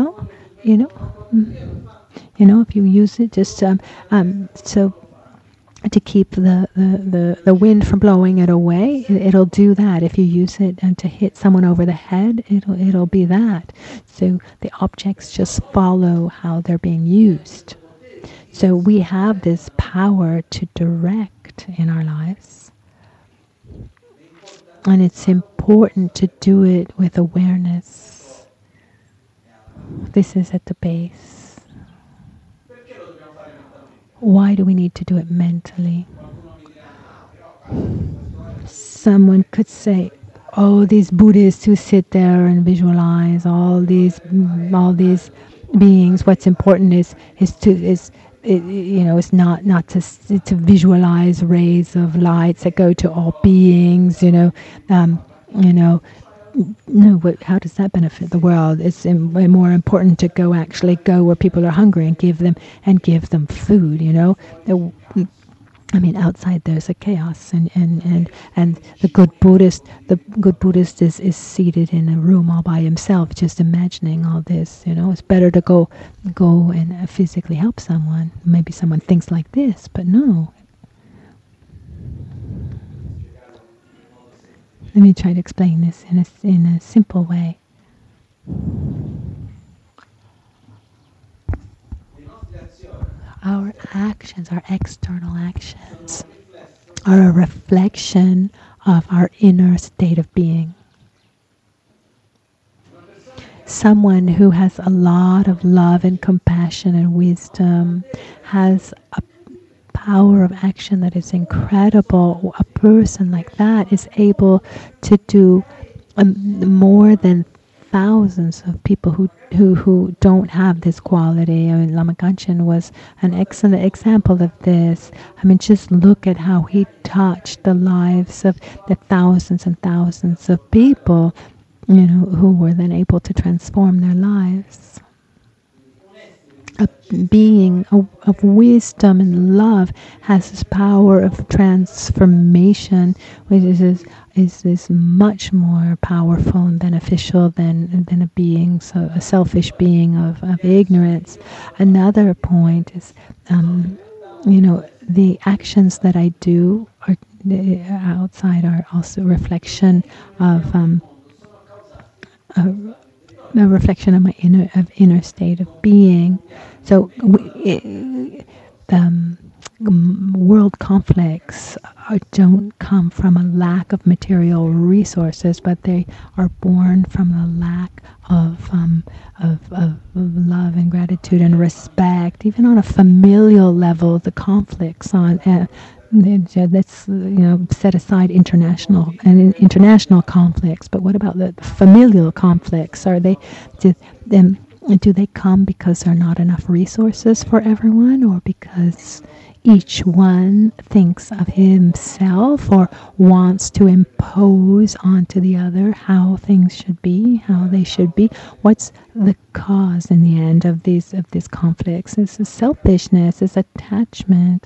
B: you use it just so to keep the wind from blowing it away, it'll do that. If you use it and to hit someone over the head, it'll be that. So the objects just follow how they're being used. So we have this power to direct in our lives. And it's important to do it with awareness. This is at the base. Why do we need to do it mentally? Someone could say, oh, these Buddhists who sit there and visualize all these beings. What's important is not to visualize rays of lights that go to all beings. No, how does that benefit the world? It's more important to go where people are hungry and give them food. I mean, outside there's a chaos, and the good Buddhist is seated in a room all by himself, just imagining all this. It's better to go and physically help someone. Maybe someone thinks like this, but no. Let me try to explain this in a simple way. Our actions, our external actions, are a reflection of our inner state of being. Someone who has a lot of love and compassion and wisdom has a power of action that is incredible. A person like that is able to do more than thousands of people who don't have this quality. I mean, Lama Kanchen was an excellent example of this. I mean, just look at how he touched the lives of the thousands and thousands of people, who were then able to transform their lives. A being of wisdom and love has this power of transformation, which is much more powerful and beneficial than a being, so a selfish being of ignorance. Another point is, the actions that I do are outside are also a reflection of a reflection of my inner state of being. So world conflicts don't come from a lack of material resources, but they are born from a lack of love and gratitude and respect. Even on a familial level, the conflicts on let's set aside international conflicts, but what about the familial conflicts? Do they come because there are not enough resources for everyone, or because each one thinks of himself or wants to impose onto the other how things should be, how they should be? What's the cause in the end of these conflicts? It's selfishness, it's attachment,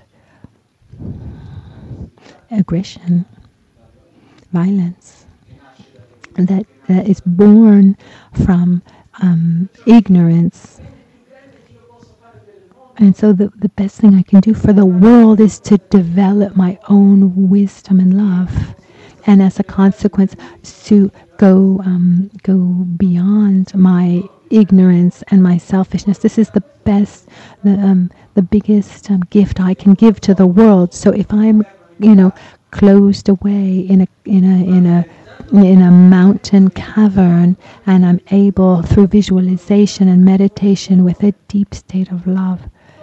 B: aggression, violence that is born from ignorance. And so the best thing I can do for the world is to develop my own wisdom and love, and as a consequence to go beyond my ignorance and my selfishness. This is the best, the biggest gift I can give to the world. So if I'm closed away in a mountain cavern, and I'm able through visualization and meditation with a deep state of love,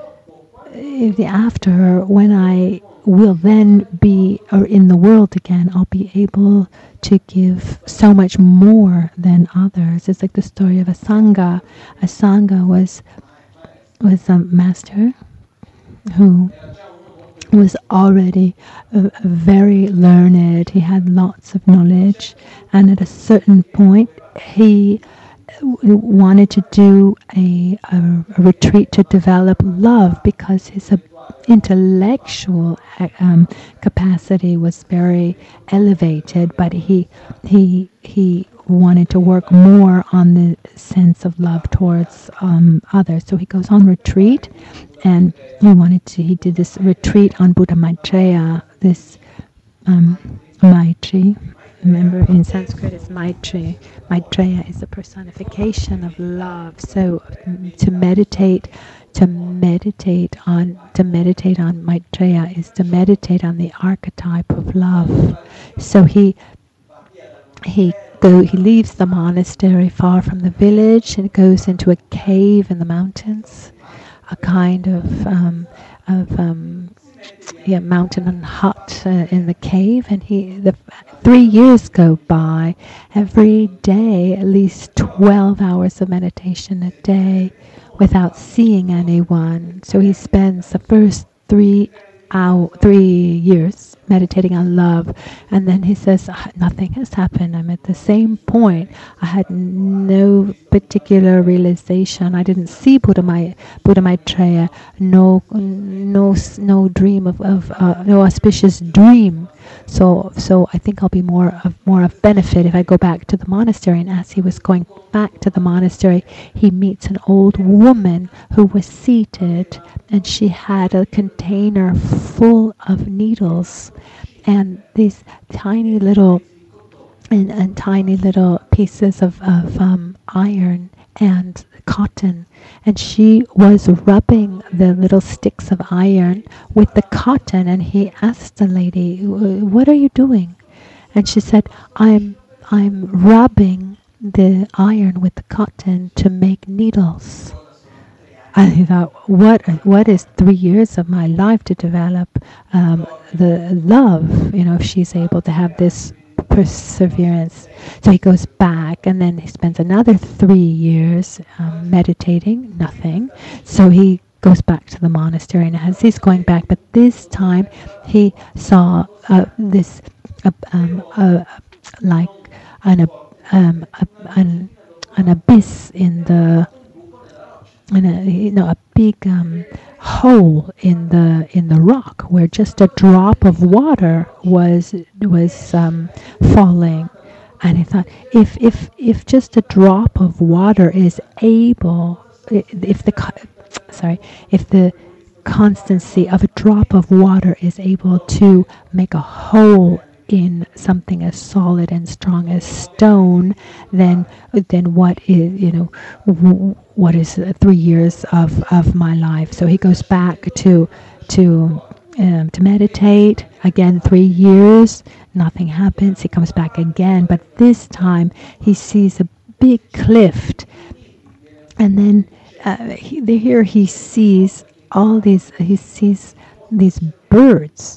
B: after, when I will then be in the world again, I'll be able to give so much more than others. It's like the story of a Sangha. A Sangha was a master who was already very learned. He had lots of knowledge, and at a certain point he wanted to do a retreat to develop love, because his intellectual capacity was very elevated, but he wanted to work more on the sense of love towards others. So he goes on retreat, and he did this retreat on Buddha Maitreya, this Maitri. Remember, in Sanskrit it's Maitri. Maitreya is the personification of love. So to meditate on Maitreya is to meditate on the archetype of love. So he leaves the monastery far from the village and goes into a cave in the mountains, a kind of mountain and hut in the cave, and 3 years go by. Every day, at least 12 hours of meditation a day without seeing anyone. So he spends the first 3 3 years meditating on love, and then he says, nothing has happened. I'm at the same point. I had no particular realization. I didn't see Buddha Maitreya. No dream of no auspicious dream. So I think I'll be more of benefit if I go back to the monastery. And as he was going back to the monastery, he meets an old woman who was seated, and she had a container full of needles and these tiny little pieces of iron and cotton, and she was rubbing the little sticks of iron with the cotton. And he asked the lady, "What are you doing?" And she said, I'm rubbing the iron with the cotton to make needles." I thought, what is 3 years of my life to develop the love? If she's able to have this perseverance. So he goes back, and then he spends another 3 years meditating, nothing. So he goes back to the monastery, and as he's going back, but this time he saw this like an abyss in the a big hole in the rock where just a drop of water was falling. And I thought, if just a drop of water is able, if the constancy of a drop of water is able to make a hole in something as solid and strong as stone, then what is 3 years of my life? So he goes back to meditate again. 3 years, nothing happens. He comes back again, but this time he sees a big cliff, and then he sees these birds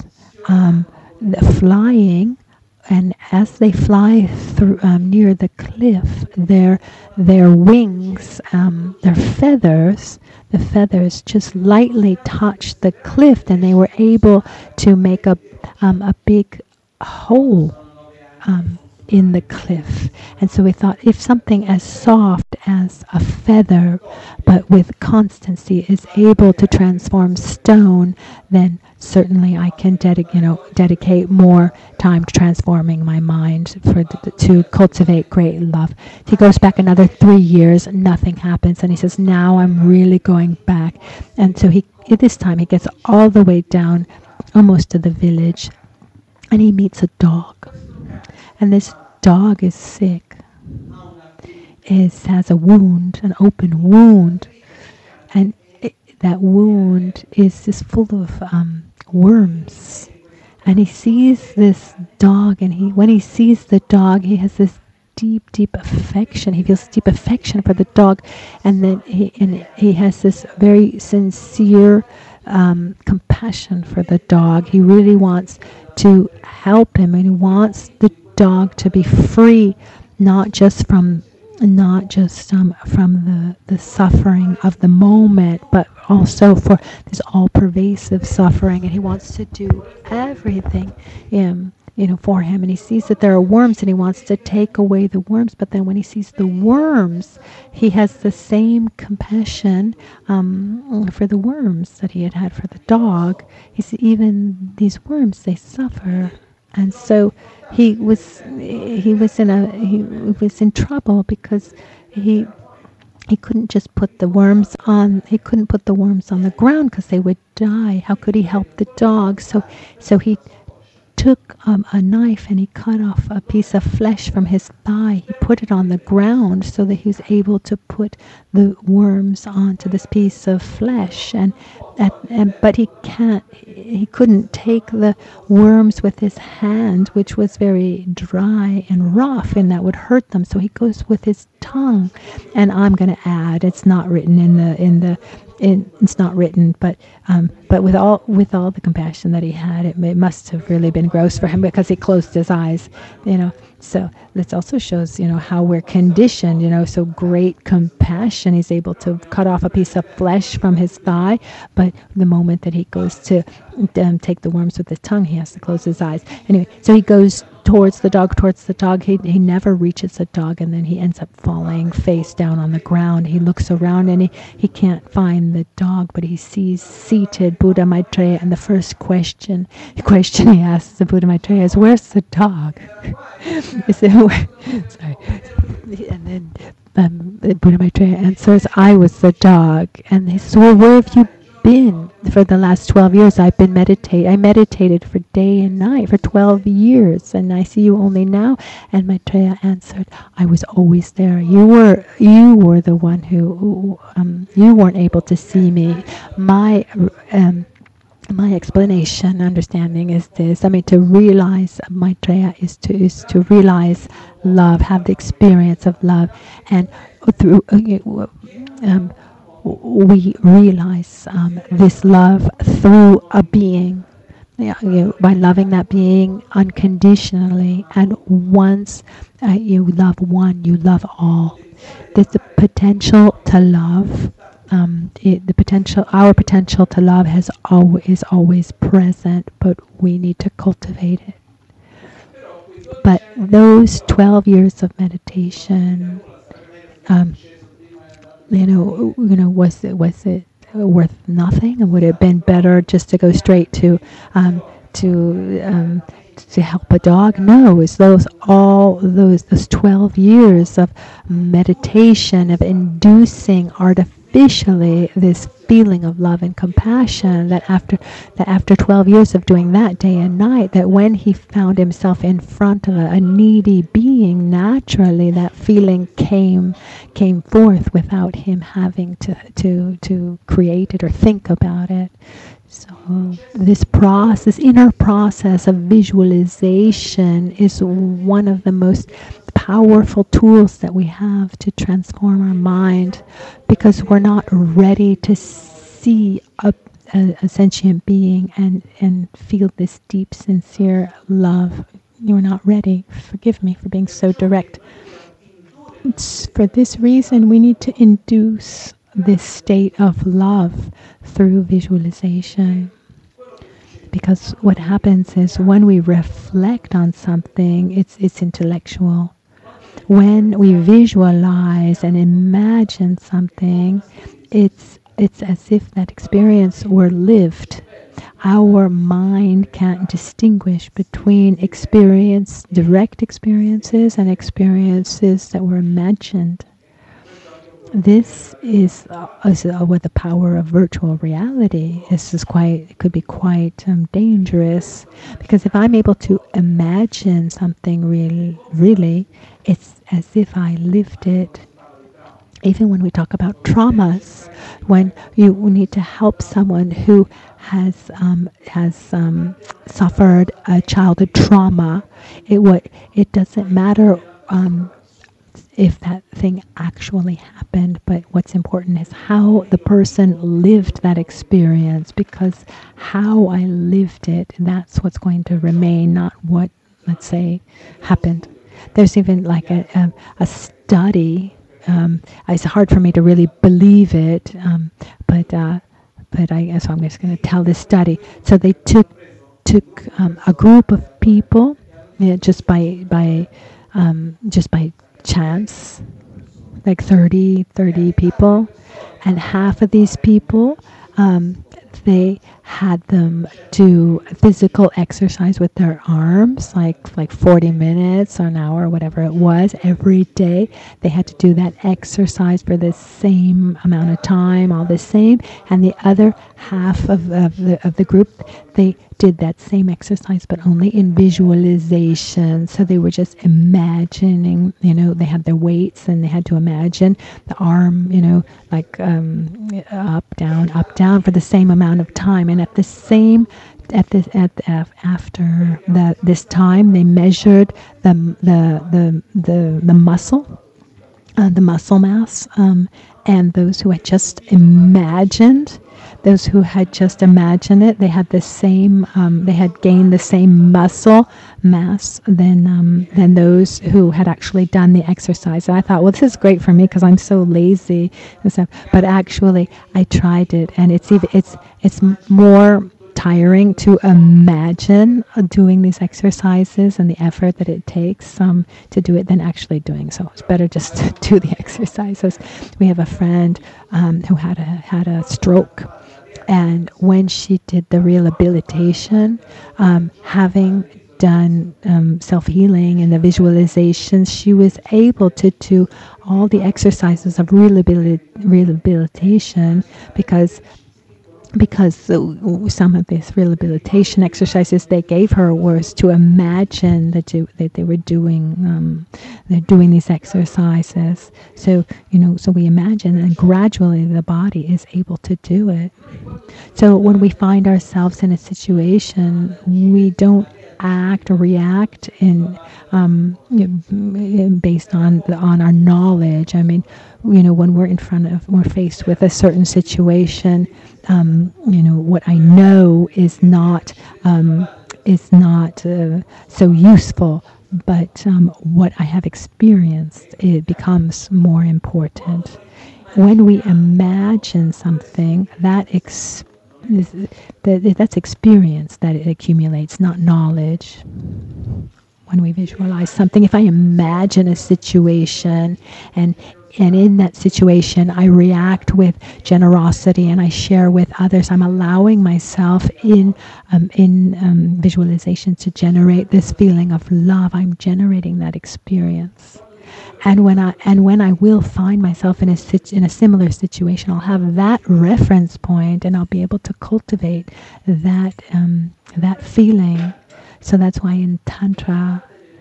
B: flying, and as they fly through near the cliff, their wings, their feathers, the feathers just lightly touched the cliff, and they were able to make a big hole in the cliff. And so we thought, if something as soft as a feather but with constancy is able to transform stone, then certainly I can dedicate more time to transforming my mind to cultivate great love. He goes back another 3 years, nothing happens, and he says, now I'm really going back. And so this time he gets all the way down almost to the village, and he meets a dog. And this dog is sick. It has a wound, an open wound, and that wound is just full of worms. And he sees this dog, and when he sees the dog, he has this deep affection. He feels deep affection for the dog, and then he has this very sincere compassion for the dog. He really wants to help him, and he wants the dog to be free, not just from the suffering of the moment, but also for this all-pervasive suffering. And he wants to do everything for him. And he sees that there are worms, and he wants to take away the worms. But then when he sees the worms, he has the same compassion for the worms that he had for the dog. He says, even these worms, they suffer. And so he was in trouble because he couldn't just put the worms on. He couldn't put the worms on the ground because they would die. How could he help the dog? So he took a knife, and he cut off a piece of flesh from his thigh. He put it on the ground so that he was able to put the worms onto this piece of flesh. But he couldn't take the worms with his hand, which was very dry and rough, and that would hurt them. So he goes with his tongue. And I'm going to add, it's not written it's not written, but with all the compassion that he had, it must have really been gross for him, because he closed his eyes, So this also shows, how we're conditioned, so great compassion. He's able to cut off a piece of flesh from his thigh, but the moment that he goes to take the worms with his tongue, he has to close his eyes. Anyway, so he goes towards the dog. He never reaches the dog, and then he ends up falling face down on the ground. He looks around and he can't find the dog, but he sees seated Buddha Maitreya, and the first question he asks the Buddha Maitreya is, "Where's the dog?" He said, sorry. And then the Buddha Maitreya answers, "I was the dog." And he says, "Well, where have you been for the last 12 years? I meditated for day and night for 12 years, and I see you only now." And Maitreya answered, "I was always there. You were the one who you weren't able to see me. My explanation, understanding is this. To realize Maitreya is to realize love, have the experience of love, and through we realize this love through a being, by loving that being unconditionally. And once you love one, you love all. There's the potential to love. Our potential to love is always present, but we need to cultivate it. But those 12 years of meditation, was it worth nothing? And would it have been better just to go straight to help a dog? No, it's those 12 years of meditation, of inducing artificially this feeling of love and compassion, that after 12 years of doing that day and night, that when he found himself in front of a needy being, naturally that feeling came forth without him having to create it or think about it. So this inner process of visualization is one of the most powerful tools that we have to transform our mind, because we're not ready to see a sentient being and feel this deep, sincere love. You're not ready. Forgive me for being so direct. For this reason, we need to induce this state of love through visualization. Because what happens is, when we reflect on something, it's intellectual. When we visualize and imagine something, it's as if that experience were lived. Our mind can't distinguish between direct experiences and experiences that were imagined. This is with the power of virtual reality. It could be quite dangerous, because if I'm able to imagine something really, it's as if I lived it. Even when we talk about traumas, when you need to help someone who has suffered a childhood trauma, it doesn't matter if that thing actually happened, but what's important is how the person lived that experience, because how I lived it, that's what's going to remain, not what, let's say, happened. There's even like a study. It's hard for me to really believe it, but so I'm just going to tell this study. So they took a group of people, just by chance, like 30 people, and half of these people, they had them do physical exercise with their arms, like 40 minutes or an hour, whatever it was, every day. They had to do that exercise for the same amount of time, all the same. And the other half of the group, they did that same exercise, but only in visualization. So they were just imagining, they had their weights, and they had to imagine the arm, like up, down for the same amount of time. And after this time, they measured the muscle, the muscle mass, and those who had just imagined, those who had just imagined it, they had the same, they had gained the same muscle mass than those who had actually done the exercise. And I thought, well, this is great for me because I'm so lazy and stuff. But actually, I tried it, and it's more tiring to imagine doing these exercises and the effort that it takes to do it than actually doing so. It's better just to do the exercises. We have a friend who had a stroke, and when she did the rehabilitation, having done self-healing and the visualizations, she was able to do all the exercises of rehabilitation because some of these rehabilitation exercises they gave her was to imagine that they were doing they're doing these exercises. So so we imagine, and gradually the body is able to do it. So when we find ourselves in a situation, we don't act or react based on our knowledge. I mean, when we're faced with a certain situation, what I know is not so useful, but what I have experienced, it becomes more important. When we imagine something, that's experience that it accumulates, not knowledge. When we visualize something, if I imagine a situation and in that situation I react with generosity and I share with others, I'm allowing myself in visualization to generate this feeling of love. I'm generating that experience. And when I will find myself in a similar situation, I'll have that reference point, and I'll be able to cultivate that feeling. So that's why in Tantra,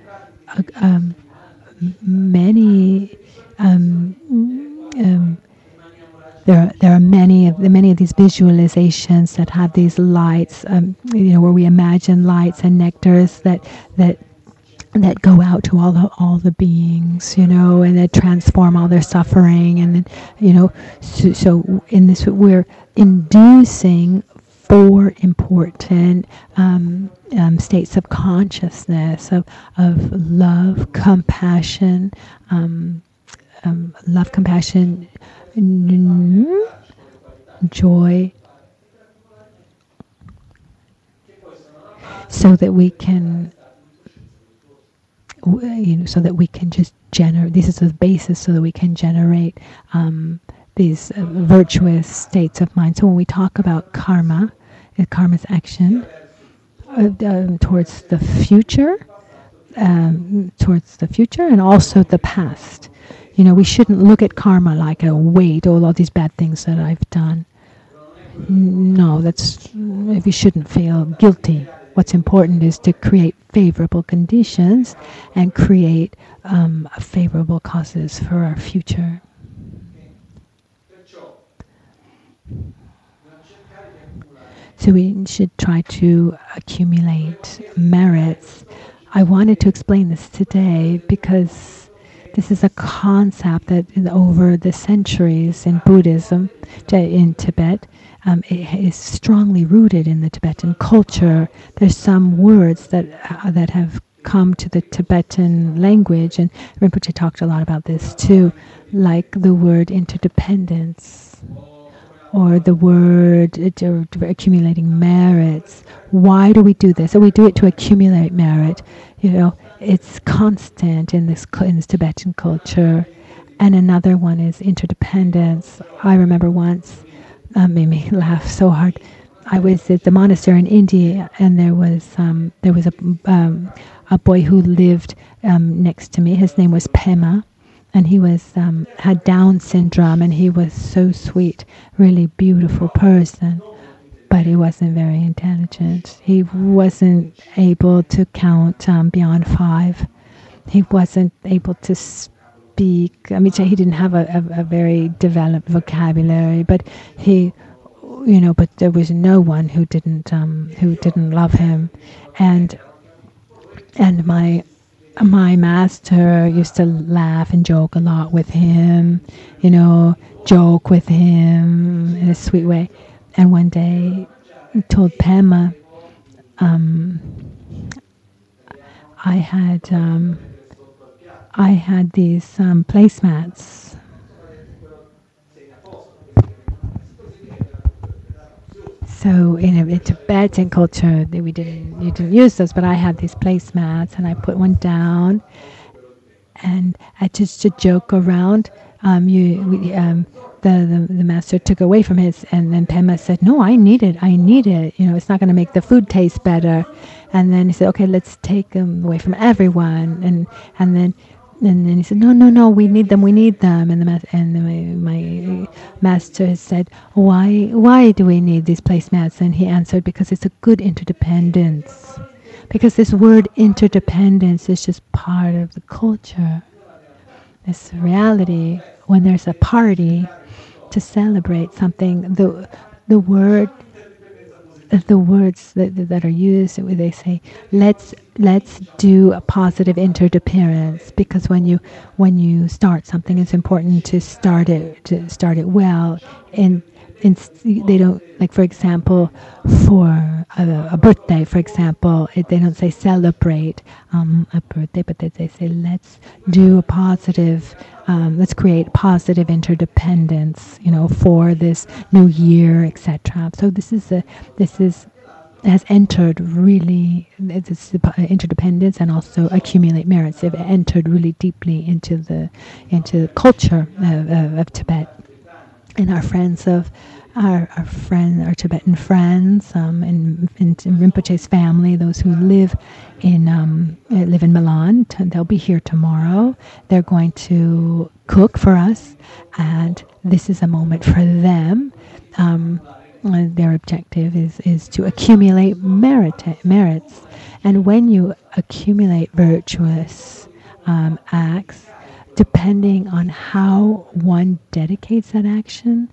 B: there are many of these visualizations that have these lights, where we imagine lights and nectars that go out to all the beings, and that transform all their suffering, and then, so in this we're inducing 4 important states of consciousness of love, compassion, joy, so that we can. So that we can just generate. This is the basis, so that we can generate these virtuous states of mind. So when we talk about karma, karma's action towards the future, and also the past. We shouldn't look at karma like a weight, all these bad things that I've done. No, we shouldn't feel guilty. What's important is to create favorable conditions and create favorable causes for our future. So we should try to accumulate merits. I wanted to explain this today because this is a concept that over the centuries in Buddhism, in Tibet, it is strongly rooted in the Tibetan culture. There's some words that have come to the Tibetan language, and Rinpoche talked a lot about this too, like the word interdependence, or the word accumulating merits. Why do we do this? So we do it to accumulate merit. It's constant in this Tibetan culture. And another one is interdependence. I remember once, made me laugh so hard. I was at the monastery in India, and there was a boy who lived next to me. His name was Pema, and he had Down syndrome, and he was so sweet, really beautiful person, but he wasn't very intelligent. He wasn't able to count beyond 5. He wasn't able to speak. I mean, he didn't have a very developed vocabulary, but but there was no one who didn't love him, and my master used to laugh and joke a lot with him, joke with him in a sweet way. and one day told Pema, I had these placemats. So in Tibetan culture, you didn't use those, but I had these placemats, and I put one down, and I just to joke around. The master took away from his, and then Pema said, "No, I need it. It's not going to make the food taste better." And then he said, "Okay, let's take them away from everyone." And then he said, "No, we need them. And my master said, "Why do we need these placemats?" And he answered, "Because it's a good interdependence. Because this word interdependence is just part of the culture. This reality. When there's a party to celebrate something, the words that are used, they say, let's do a positive interdependence, because when you start something, it's important to start it well. And they don't, like, for example, for a birthday, for example, they don't say celebrate a birthday, but they say let's do a positive, let's create positive interdependence, for this new year, etc. So this has entered really, this interdependence and also accumulate merits. They've entered really deeply into the culture of Tibet. And our friends our Tibetan friends, in Rinpoche's family, those who live in Milan, they'll be here tomorrow. They're going to cook for us, and this is a moment for them. Their objective is to accumulate merits, and when you accumulate virtuous acts, depending on how one dedicates that action,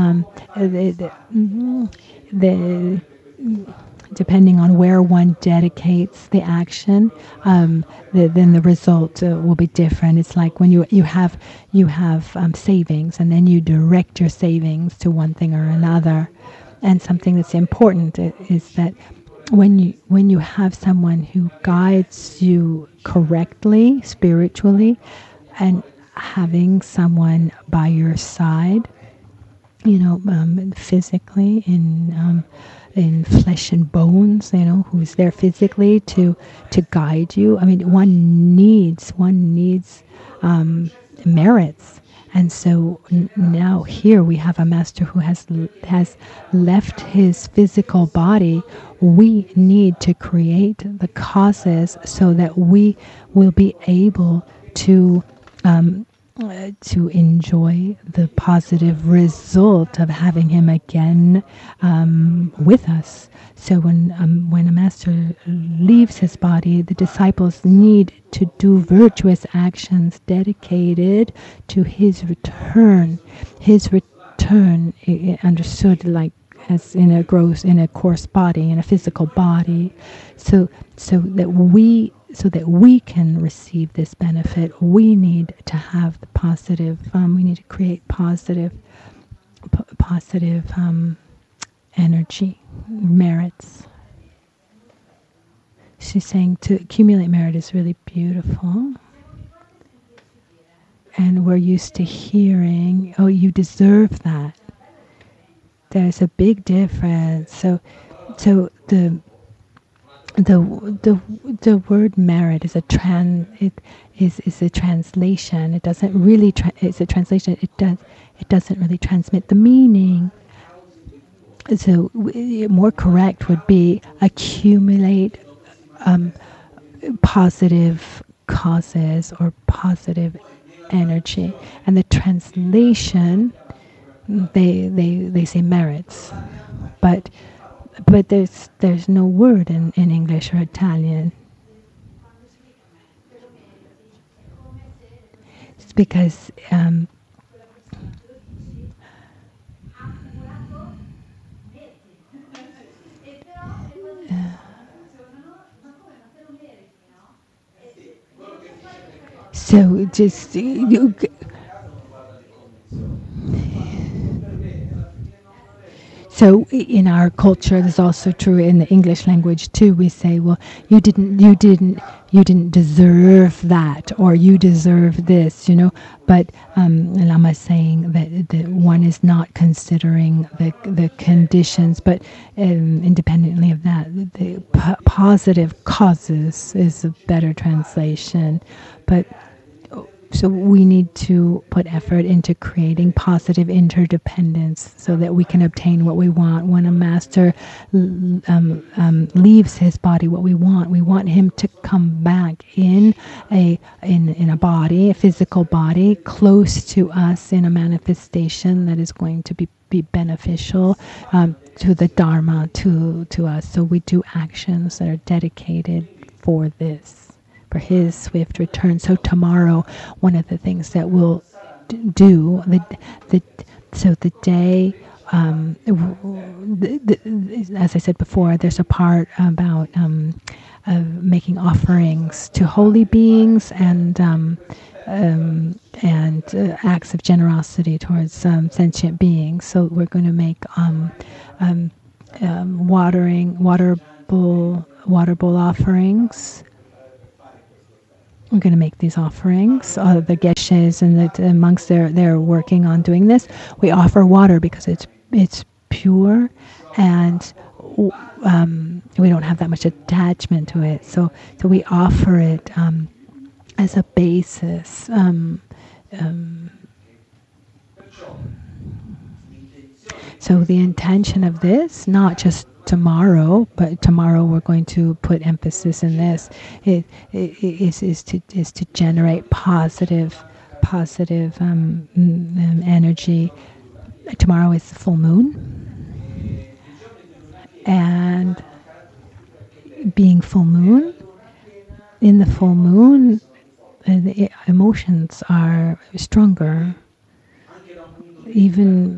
B: depending on where one dedicates the action, then the result will be different. It's like when you have savings, and then you direct your savings to one thing or another. And something that's important is that when you have someone who guides you correctly, spiritually, and having someone by your side, physically, in flesh and bones, who's there physically to guide you. I mean, one needs merits. And so now here we have a master who has left his physical body. We need to create the causes so that we will be able to enjoy the positive result of having him again with us. So when a master leaves his body, the disciples need to do virtuous actions dedicated to his return. His return, understood like as in a coarse body, in a physical body, so that we can receive this benefit. We need to have the positive. We need to create positive energy, merits. She's saying to accumulate merit is really beautiful. And we're used to hearing, "Oh, you deserve that." There's a big difference. So the word merit is a translation. It doesn't really. It's a translation. It doesn't really transmit the meaning. So more correct would be accumulate positive causes or positive energy. And the translation, they say merits, but there's no word in English or Italian. It's because so just So in our culture, this is also true in the English language too. We say, well, you didn't deserve that, or you deserve this, But Lama is saying that one is not considering the conditions, but independently of that, the positive causes is a better translation. But so we need to put effort into creating positive interdependence so that we can obtain what we want. When a master leaves his body, what we want him to come back in a body, a physical body, close to us in a manifestation that is going to be beneficial to the Dharma, to us. So we do actions that are dedicated for this, for his swift return. So tomorrow, one of the things that we'll do, so the day, as I said before, there's a part about making offerings to holy beings and acts of generosity towards sentient beings. So we're going to make water bowl offerings. I'm going to make these offerings. The geshes and the monks, they're working on doing this. We offer water because it's pure, and we don't have that much attachment to it. So we offer it as a basis. So the intention of this, not just tomorrow, but tomorrow we're going to put emphasis in this. It is to generate positive energy. Tomorrow is the full moon, and being full moon, in the full moon, the emotions are stronger. Even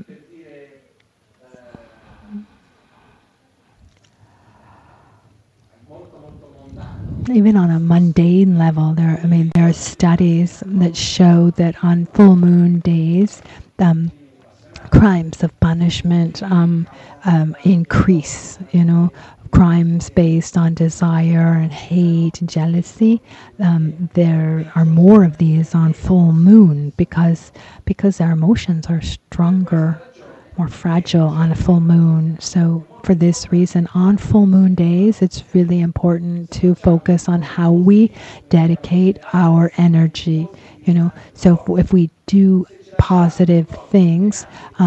B: on a mundane level, there are studies that show that on full moon days, crimes of punishment increase. Crimes based on desire and hate and jealousy. There are more of these on full moon because our emotions are stronger, more fragile on a full moon. So for this reason, on full moon days, it's really important to focus on how we dedicate our energy. So if we do positive things,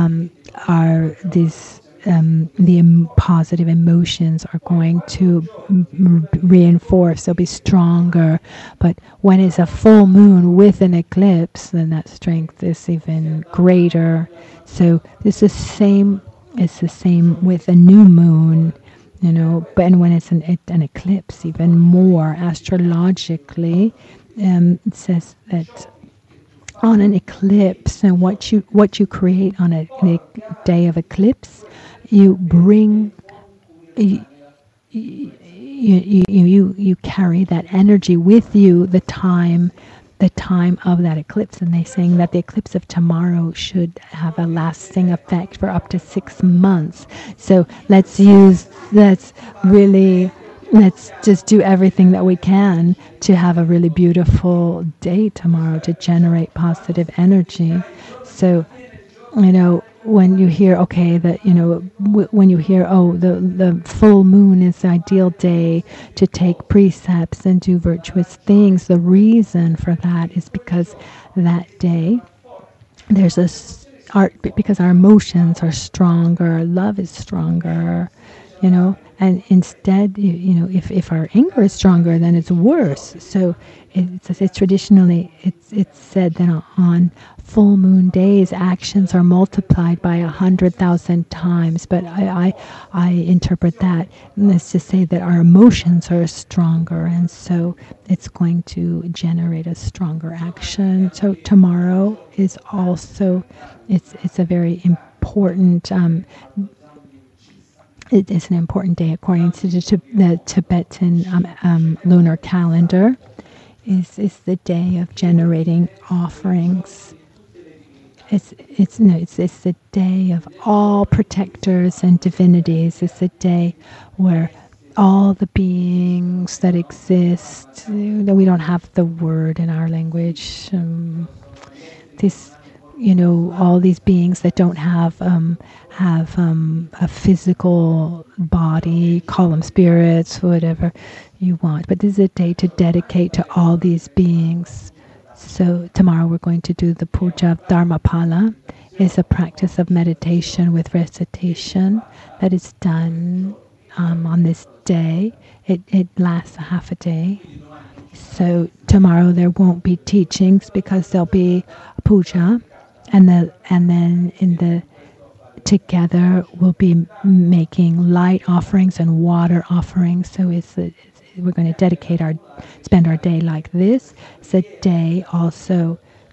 B: the positive emotions are going to reinforce. They'll be stronger. But when it's a full moon with an eclipse, then that strength is even greater. So it's the same with a new moon, but when it's an eclipse, even more astrologically, it says that on an eclipse, and what you create on a day of eclipse, you bring you carry that energy with you the time of that eclipse. And they're saying that the eclipse of tomorrow should have a lasting effect for up to 6 months. So let's just do everything that we can to have a really beautiful day tomorrow, to generate positive energy. So, when you hear, when you hear, the full moon is the ideal day to take precepts and do virtuous things, the reason for that is because that day because our emotions are stronger, love is stronger, and instead, if our anger is stronger, then it's worse. So it's traditionally, it's said that on full moon days, actions are multiplied by 100,000 times. But I interpret that as to say that our emotions are stronger, and so it's going to generate a stronger action. So tomorrow is also, it's a very important. It is an important day according to the Tibetan lunar calendar. Is the day of generating offerings it's the day of all protectors and divinities. It's the day where all the beings that exist, that we don't have the word in our language. This, all these beings that don't have a physical body, call them spirits, whatever you want. But this is a day to dedicate to all these beings. So tomorrow we're going to do the puja of Dharmapala. It's a practice of meditation with recitation that is done on this day. It lasts a half a day. So tomorrow there won't be teachings because there'll be a puja, and then together we'll be making light offerings and water offerings. So we're going to spend our day like this. It's a day also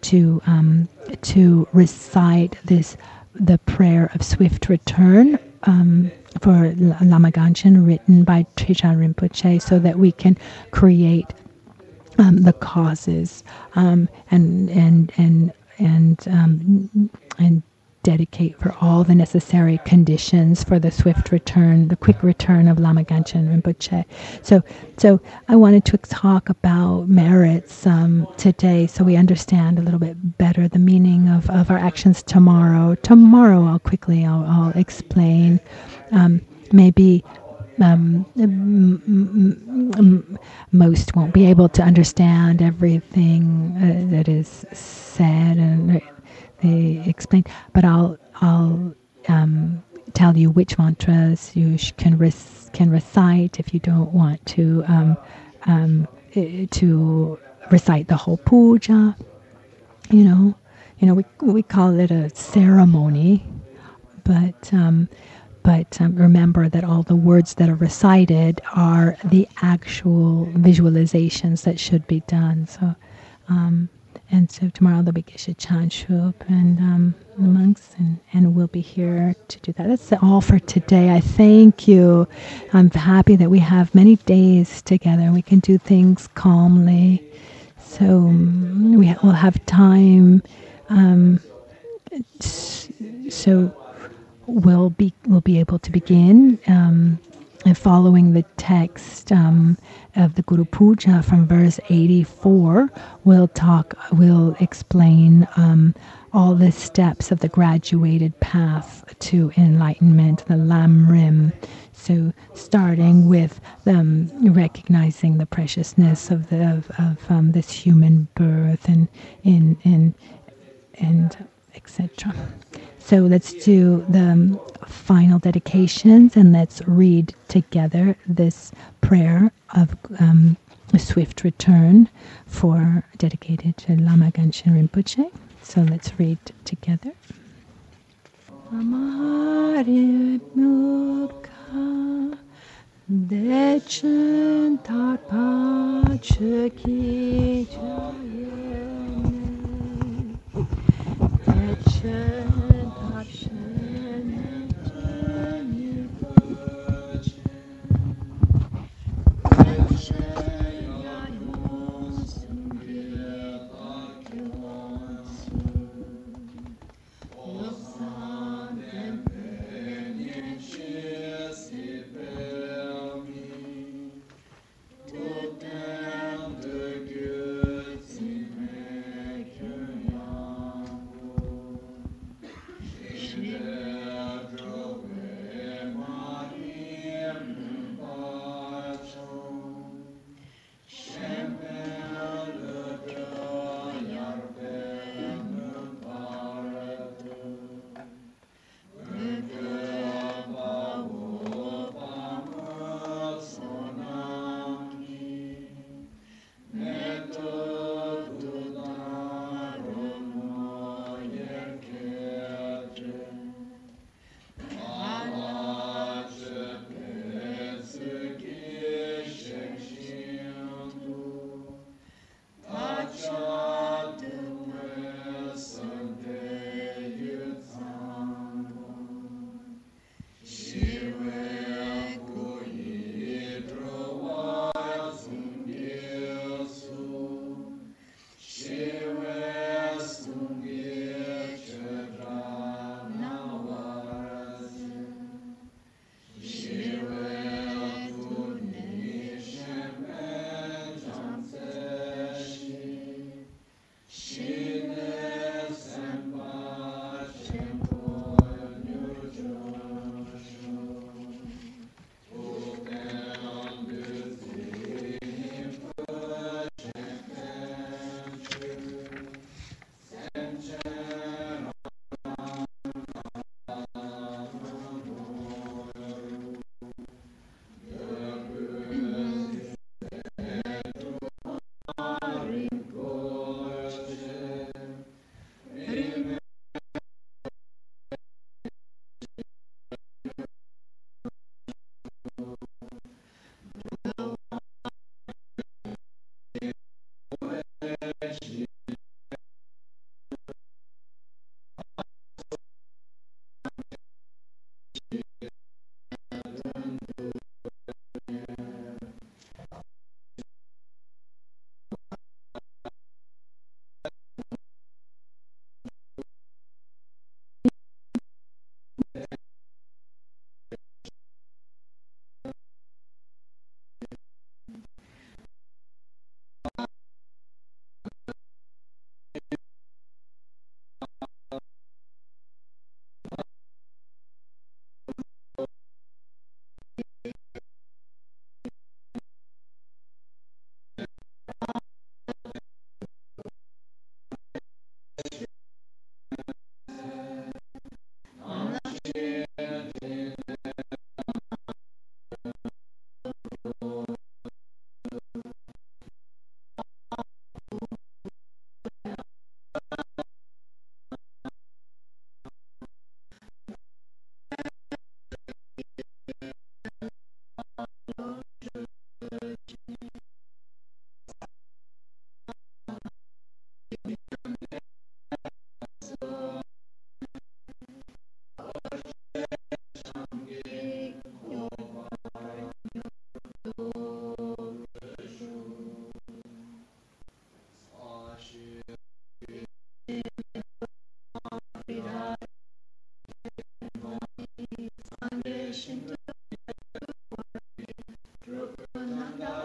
B: to recite the prayer of swift return for Lama Ganchen, written by Trijang Rinpoche, so that we can create the causes and dedicate for all the necessary conditions for the swift return, the quick return of Lama Ganchen Rinpoche. So I wanted to talk about merits today, so we understand a little bit better the meaning of our actions tomorrow. Tomorrow, I'll explain. Maybe most won't be able to understand everything that is said and they explain, but I'll tell you which mantras you can recite if you don't want to recite the whole puja. We call it a ceremony, but remember that all the words that are recited are the actual visualizations that should be done. So tomorrow there'll be Geshe Chanchup and the monks, and we'll be here to do that. That's all for today. I thank you. I'm happy that we have many days together. We can do things calmly. So we'll have time. So we'll be able to begin following the text of the Guru Puja from verse 84. We'll explain all the steps of the graduated path to enlightenment, the Lam Rim. So starting with recognizing the preciousness of this human birth and etc. So let's do the final dedications, and let's read together this prayer of swift return dedicated to Lama Ganchen Rinpoche. So let's read together. Amare mukha dechen tarpa cheki jayene dechen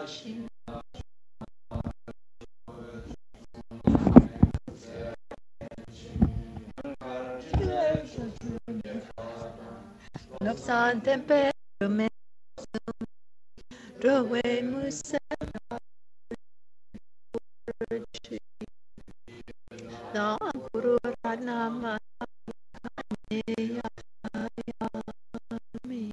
B: San tempe me rowe musa na guru ranama ya mi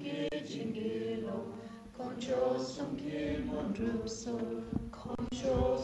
B: Control